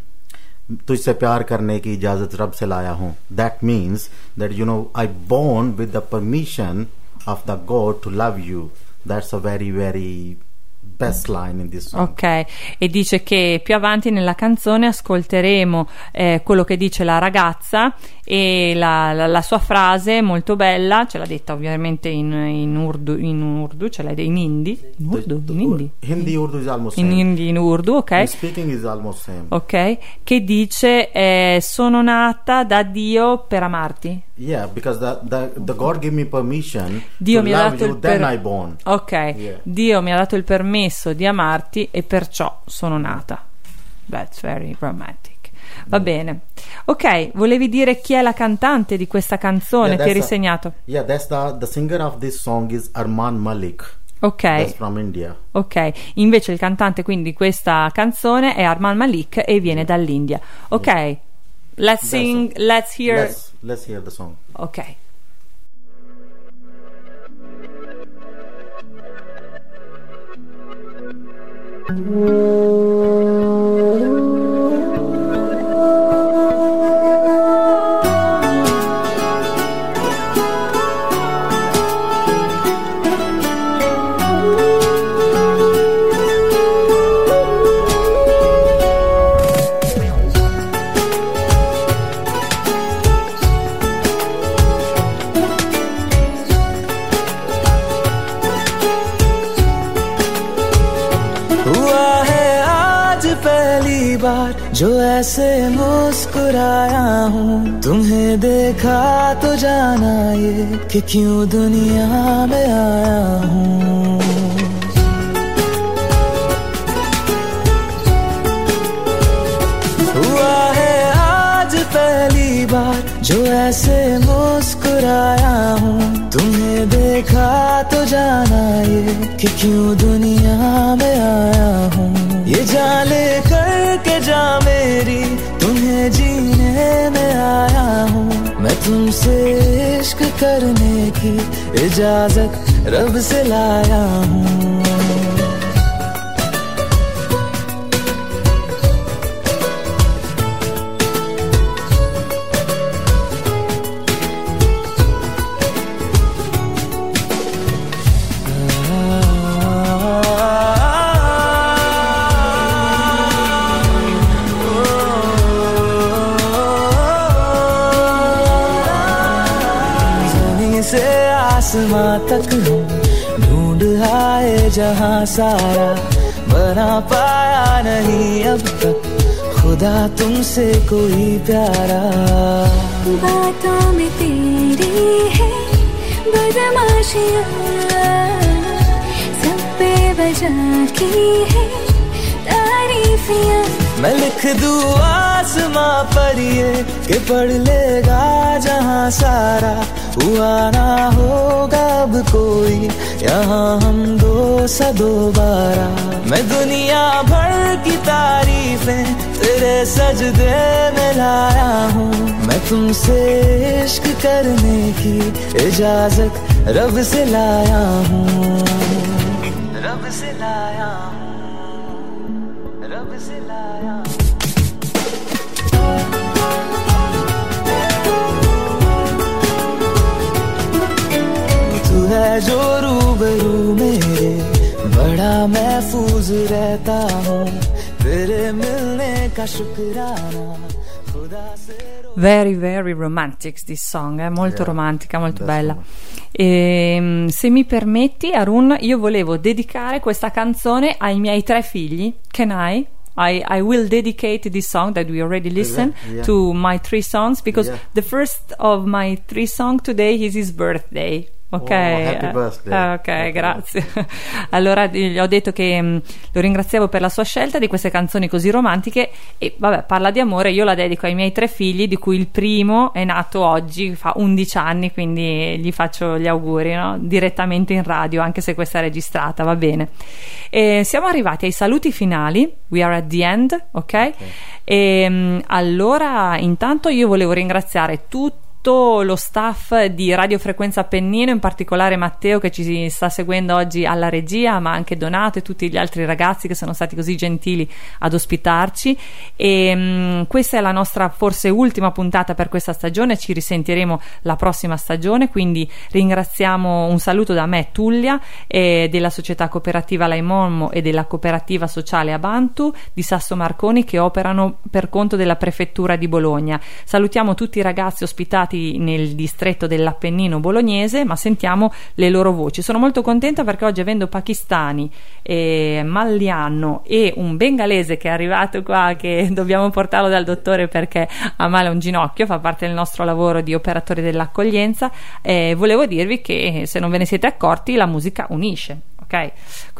तुझसे प्यार करने की इजाजत रब से लाया हूँ. That means that you know I born with the permission of the God to love you. That's a very very best line in this song. Ok, e dice che più avanti nella canzone ascolteremo eh, quello che dice la ragazza, e la, la, la sua frase molto bella, ce l'ha detta ovviamente in, in urdu, in urdu, ce l'ha detta in hindi, in urdu, in hindi, Hindi Urdu is almost in same. hindi, in urdu, ok. In speaking is almost same. Ok, che dice eh, sono nata da Dio per amarti. Yeah, because the, the the God gave me permission Dio to mi ha love dato you, il then per- I born. Ok, Yeah. Dio mi ha dato il permesso di amarti e perciò sono nata. That's very romantic. Va bene. Ok, volevi dire chi è la cantante di questa canzone? Yeah, Ti hai that's a- risegnato? Yeah, that's the the singer of this song is Arman Malik. Ok. That's from India. Ok, invece il cantante quindi di questa canzone è Arman Malik e viene dall'India. Ok, let's That's sing, all. let's hear. Let's let's hear the song. Ok. हुआ है पहली बार जो ऐसे मुस्कुराया हूँ, तुम्हें देखा तो जाना ये कि क्यों दुनिया में आया हूँ। हुआ है आज पहली बार जो ऐसे मुस्कुराया हूँ, तुम्हें देखा तो जाना ये कि क्यों दुनिया में आया हूँ। ये जान ले कर के जा मेरी, तुम्हें जीने में आया हूँ। मैं तुमसे इश्क करने की इजाजत रब से लाया हूँ। आसमां तक हम ढूंढ आए जहां सारा, बना पाया नहीं अब तक खुदा तुमसे कोई प्यारा। बातों में तेरी है बदमाशियाँ, सब पे बजा की है तारीफियाँ। मैं लिख दूँ आसमां पर ये कि पढ़ लेगा जहां सारा, हुआ ना होगा अब कोई यहाँ हम दो सा दोबारा। मैं दुनिया भर की तारीफें तेरे सजदे में लाया हूँ। मैं तुमसे इश्क करने की इजाजत रब से लाया हूँ। रब से लाया हूँ, रब से लाया हूँ। तू है जो रूबरू मेरे, बड़ा महफूज रहता हूँ, तेरे मिलने का शुक्राना खुदा से। Very very romantic this song, è eh? molto Yeah, romantica, molto that's bella. one. E, se mi permetti, Arun, io volevo dedicare questa canzone ai miei tre figli. Can I? I, I will dedicate this song that we already listened Yeah. to my three sons, because Yeah. the first of my three songs today is his birthday. Ok, Oh, happy eh, birthday. eh, ok, Happy grazie. Allora gli ho detto che mh, lo ringraziavo per la sua scelta di queste canzoni così romantiche e vabbè, parla di amore, io la dedico ai miei tre figli, di cui il primo è nato oggi, fa undici anni, quindi gli faccio gli auguri, no? Direttamente in radio, anche se questa è registrata, va bene. E siamo arrivati ai saluti finali, we are at the end, ok? okay. E mh, allora intanto io volevo ringraziare tutti tutto lo staff di Radio Frequenza Appennino, in particolare Matteo che ci sta seguendo oggi alla regia, ma anche Donato e tutti gli altri ragazzi che sono stati così gentili ad ospitarci. E mh, questa è la nostra forse ultima puntata per questa stagione, ci risentiremo la prossima stagione, quindi ringraziamo, un saluto da me Tullia, e della società cooperativa Laimolmo e della cooperativa sociale Abantu di Sasso Marconi, che operano per conto della prefettura di Bologna. Salutiamo tutti i ragazzi ospitati nel distretto dell'Appennino bolognese, ma sentiamo le loro voci. Sono molto contenta perché oggi, avendo pakistani, eh, Malliano e un bengalese che è arrivato qua, che dobbiamo portarlo dal dottore perché ha male a un ginocchio, fa parte del nostro lavoro di operatori dell'accoglienza, eh, volevo dirvi che, se non ve ne siete accorti, la musica unisce, ok?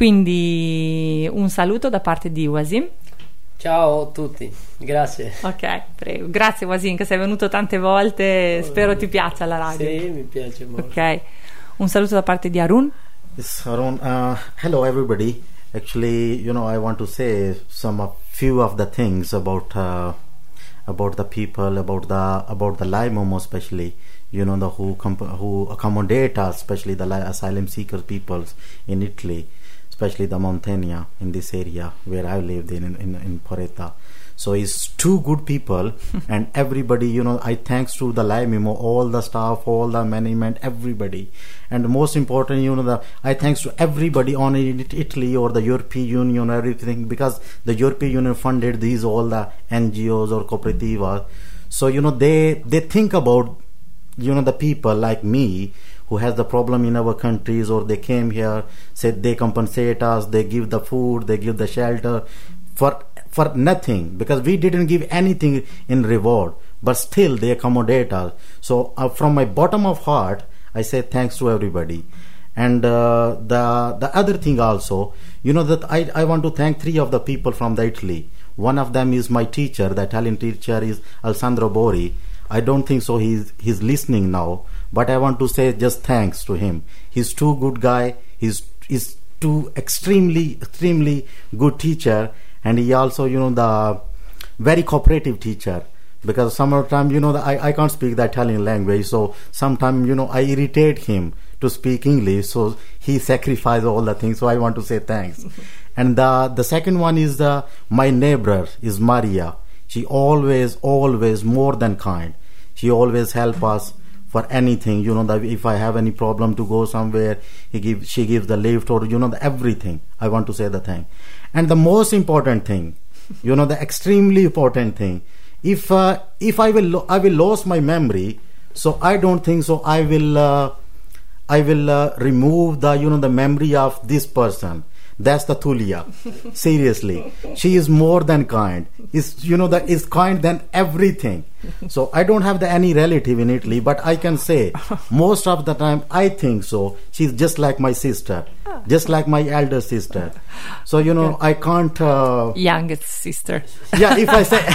Quindi un saluto da parte di Wasim. Ciao a tutti, grazie. Ok, prego. Grazie Wasim che sei venuto tante volte, spero ti piaccia la radio. Sì, mi piace molto. Ok, un saluto da parte di Arun. Yes, Arun. Uh, hello, everybody. Actually, you know, I want to say some of few of the things about uh, about the people, about the about the Laimomo, especially. You know, the who comp- who accommodate us, especially the li- asylum seeker peoples in Italy, especially the Montagna in this area where I lived in in, in Poretta. So it's two good people and everybody, you know, I thanks to the Laimimo, all the staff, all the management, everybody. And most important, you know, the I thanks to everybody on it, Italy or the European Union, everything, because the European Union funded these all the N G Os or cooperativa. So, you know, they they think about, you know, the people like me who has the problem in our countries, or they came here, said they compensate us, they give the food, they give the shelter. for for nothing, because we didn't give anything in reward, but still they accommodate us. So uh, from my bottom of heart, I say thanks to everybody. And uh, the the other thing also, you know, that I, I want to thank three of the people from the Italy. One of them is my teacher, the Italian teacher is Alessandro Bori. I don't think so he's he's listening now, but I want to say just thanks to him. He's too good guy. He's he's too extremely extremely good teacher, and he also, you know, the very cooperative teacher. Because sometimes, you know, the, I, I can't speak the Italian language, so sometimes, you know, I irritate him to speak English, so he sacrificed all the things, so I want to say thanks. And the the second one is the my neighbor is Maria. She always, always more than kind. She always help us for anything, you know, that if I have any problem to go somewhere, he give, she gives the lift, or, you know, the everything. I want to say the thing. And the most important thing, you know, the extremely important thing, if uh, if I will lo- I will lose my memory, so I don't think so I will uh, I will uh, remove the, you know, the memory of this person. That's the Tulia. Seriously, she is more than kind. Is, you know, that is kind than everything. So I don't have the any relative in Italy, but I can say most of the time I think so. She's just like my sister, just like my elder sister. So, you know, I can't. Uh, Youngest sister. Yeah, if I say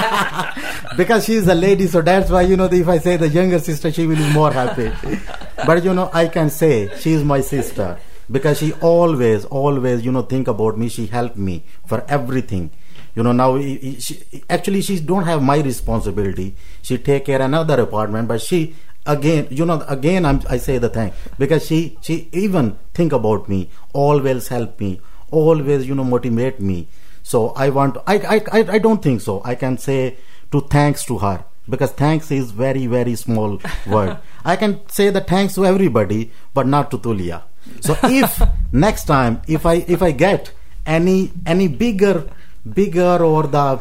because she is a lady, so that's why, you know, if I say the younger sister, she will be more happy. But, you know, I can say she is my sister. Because she always, always, you know, think about me. She helped me for everything. You know, now, she, actually, she don't have my responsibility. She take care another apartment, but she, again, you know, again, I'm, I say the thing. Because she, she even think about me, always help me, always, you know, motivate me. So I want, to, I, I, I, I don't think so. I can say to thanks to her. Because thanks is very, very small word. I can say the thanks to everybody, but not to Tulia. So if next time, if I if I get any any bigger bigger or the,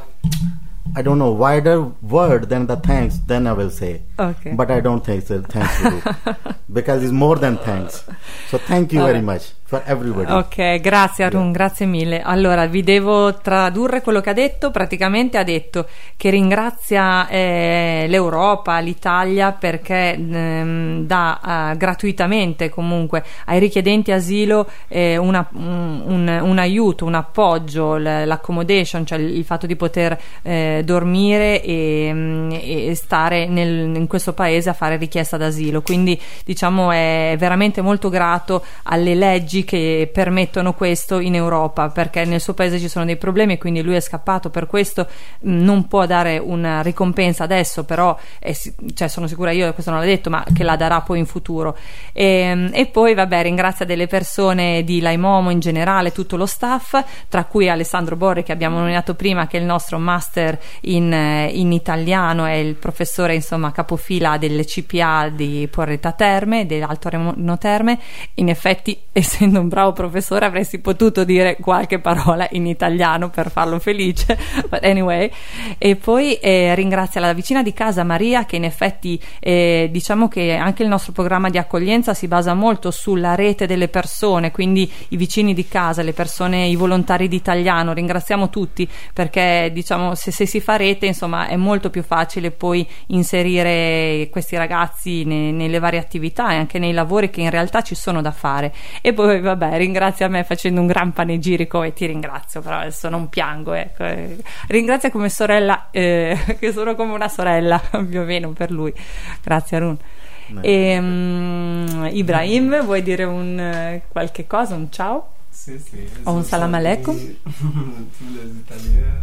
I don't know, wider word than the thanks, then I will say. Okay. But I don't think so. Thanks to you, because it's more than thanks. So thank you very much for everybody. Ok, grazie Arun, yeah. Grazie mille. Allora, vi devo tradurre quello che ha detto. Praticamente ha detto che ringrazia eh, l'Europa, l'Italia, perché ehm, dà eh, gratuitamente comunque ai richiedenti asilo eh, una, un, un, un aiuto, un appoggio, l'accommodation, cioè il fatto di poter eh, dormire e, e stare nel, in questo paese a fare richiesta d'asilo. Quindi, diciamo, è veramente molto grato alle leggi che permettono questo in Europa, perché nel suo paese ci sono dei problemi e quindi lui è scappato. Per questo mh, non può dare una ricompensa adesso, però è, cioè, sono sicura, io questo non l'ha detto, ma che la darà poi in futuro. E, e poi vabbè, ringrazia delle persone di Laimomo in generale, tutto lo staff, tra cui Alessandro Borri, che abbiamo nominato prima, che è il nostro master in, in italiano, è il professore, insomma, capofila delle C P A di Porretta Terme, dell'Alto Areno Terme. In effetti, essendo un bravo professore, avresti potuto dire qualche parola in italiano per farlo felice, but anyway. E poi eh, ringrazia la vicina di casa Maria, che in effetti eh, diciamo che anche il nostro programma di accoglienza si basa molto sulla rete delle persone, quindi i vicini di casa, le persone, i volontari di italiano. Ringraziamo tutti, perché diciamo se, se si fa rete, insomma, è molto più facile poi inserire questi ragazzi ne, nelle varie attività e anche nei lavori che in realtà ci sono da fare. E poi vabbè, ringrazia me facendo un gran panegirico, e ti ringrazio, però adesso non piango, ecco. Ringrazia come sorella, eh, che sono come una sorella più o meno per lui. Grazie Arun. E, um, Ibrahim, vuoi dire un qualche cosa, un ciao? Sì, sì. O un salam aleikum? Tous les Italiens.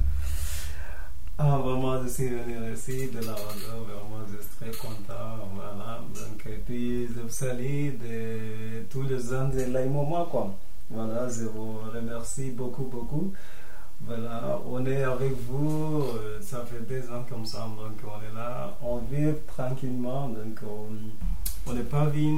Ah, vraiment, je suis venu ici de la Rwanda, vraiment, je suis très content, voilà. Donc, et puis, je vous salue de tous les gens de Laimomo, quoi. Voilà, je vous remercie beaucoup, beaucoup. Voilà, on est avec vous, euh, ça fait deux ans comme ça, donc on est là, on vit tranquillement, donc on n'a pas vu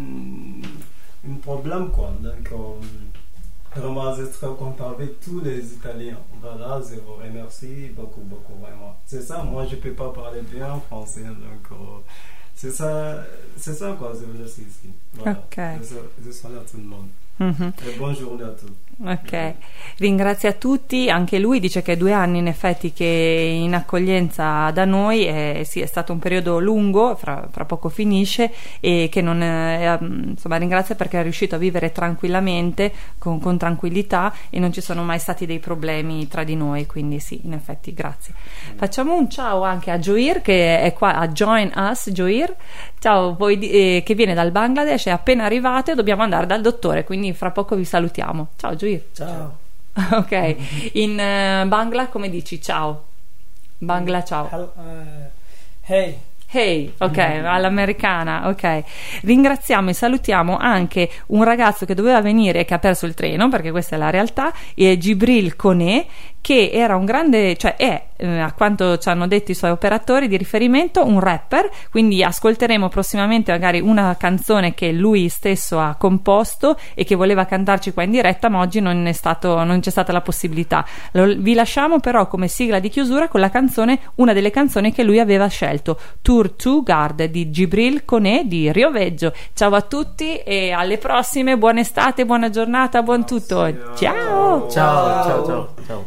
un problème, quoi. Donc, on, vraiment, je suis très content avec tous les Italiens. Voilà, je vous remercie beaucoup, beaucoup, vraiment. C'est ça, moi je ne peux pas parler bien français, donc euh, c'est ça, c'est ça quoi, je veux dire ici. Voilà. Ok. Je, je salue à tout le monde. Mhm. E buona giornata a tutti. Ok, ringrazia tutti, anche lui dice che è due anni in effetti che è in accoglienza da noi, e sì, è stato un periodo lungo, fra, fra poco finisce, e che non è, insomma, ringrazia perché è riuscito a vivere tranquillamente, con, con tranquillità, e non ci sono mai stati dei problemi tra di noi, quindi sì, in effetti grazie. Facciamo un ciao anche a Joir che è qua a Join Us. Joir, ciao, voi, eh, che viene dal Bangladesh, è appena arrivato e dobbiamo andare dal dottore, quindi fra poco vi salutiamo. Ciao Joir. Ciao. Ok, in uh, Bangla come dici ciao? Bangla ciao. Hel- uh, hey. Hey, ok, all'americana, ok. Ringraziamo e salutiamo anche un ragazzo che doveva venire e che ha perso il treno, perché questa è la realtà, è Gibril Kone, che era un grande, cioè è, eh, a quanto ci hanno detto i suoi operatori di riferimento, un rapper, quindi ascolteremo prossimamente magari una canzone che lui stesso ha composto e che voleva cantarci qua in diretta, ma oggi non è stato, non c'è stata la possibilità. Lo, vi lasciamo però come sigla di chiusura con la canzone, una delle canzoni che lui aveva scelto, Tour to Guard di Gibril Kone di Rio Veggio. Ciao a tutti e alle prossime, buona estate, buona giornata, buon tutto. Ciao. Ciao, ciao, ciao, ciao.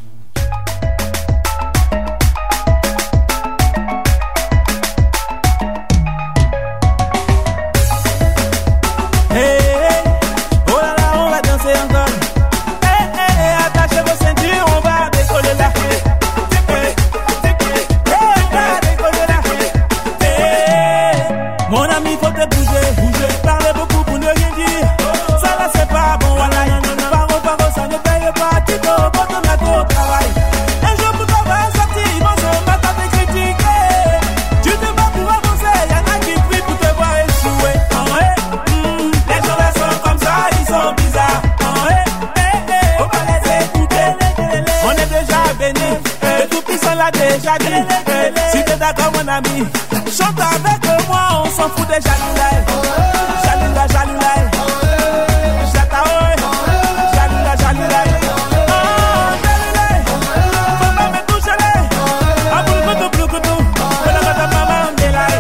Déjà dit, si t'es d'accord mon ami, chante avec moi, on s'en fout des jaloulais. Jaloula, jaloulais. Jataoui, jaloula, jaloulais. Oh, jaloulais, faut pas me toucher les. Ah, boulou, boulou, boulou, boulou, boulou, boulou, maman, m'delaye.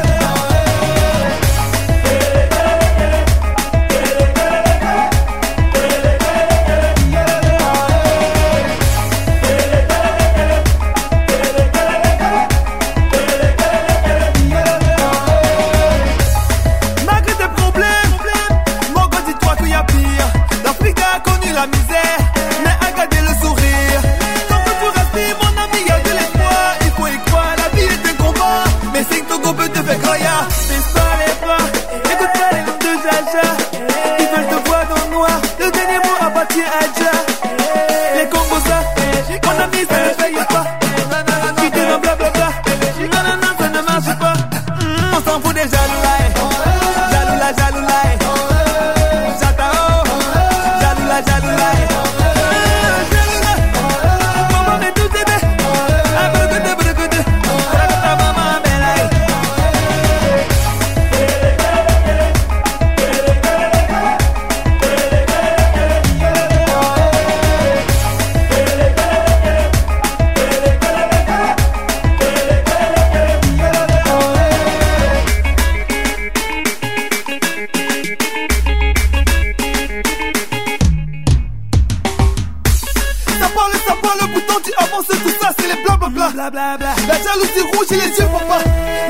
Les Congosa, mon ami, ça ne paye pas. Qui te non blablabla, non, non, non, ça ne marche pas. On s'en fout des jaloulais. Jaloula, jaloulais. Jatao, jaloula, jaloulais. Jaloula, maman est tout aidé. Ah, brugude, brugude. Rakata, maman, belay. Tout ça, c'est les blablabla. La jalousie rouge et les yeux papa.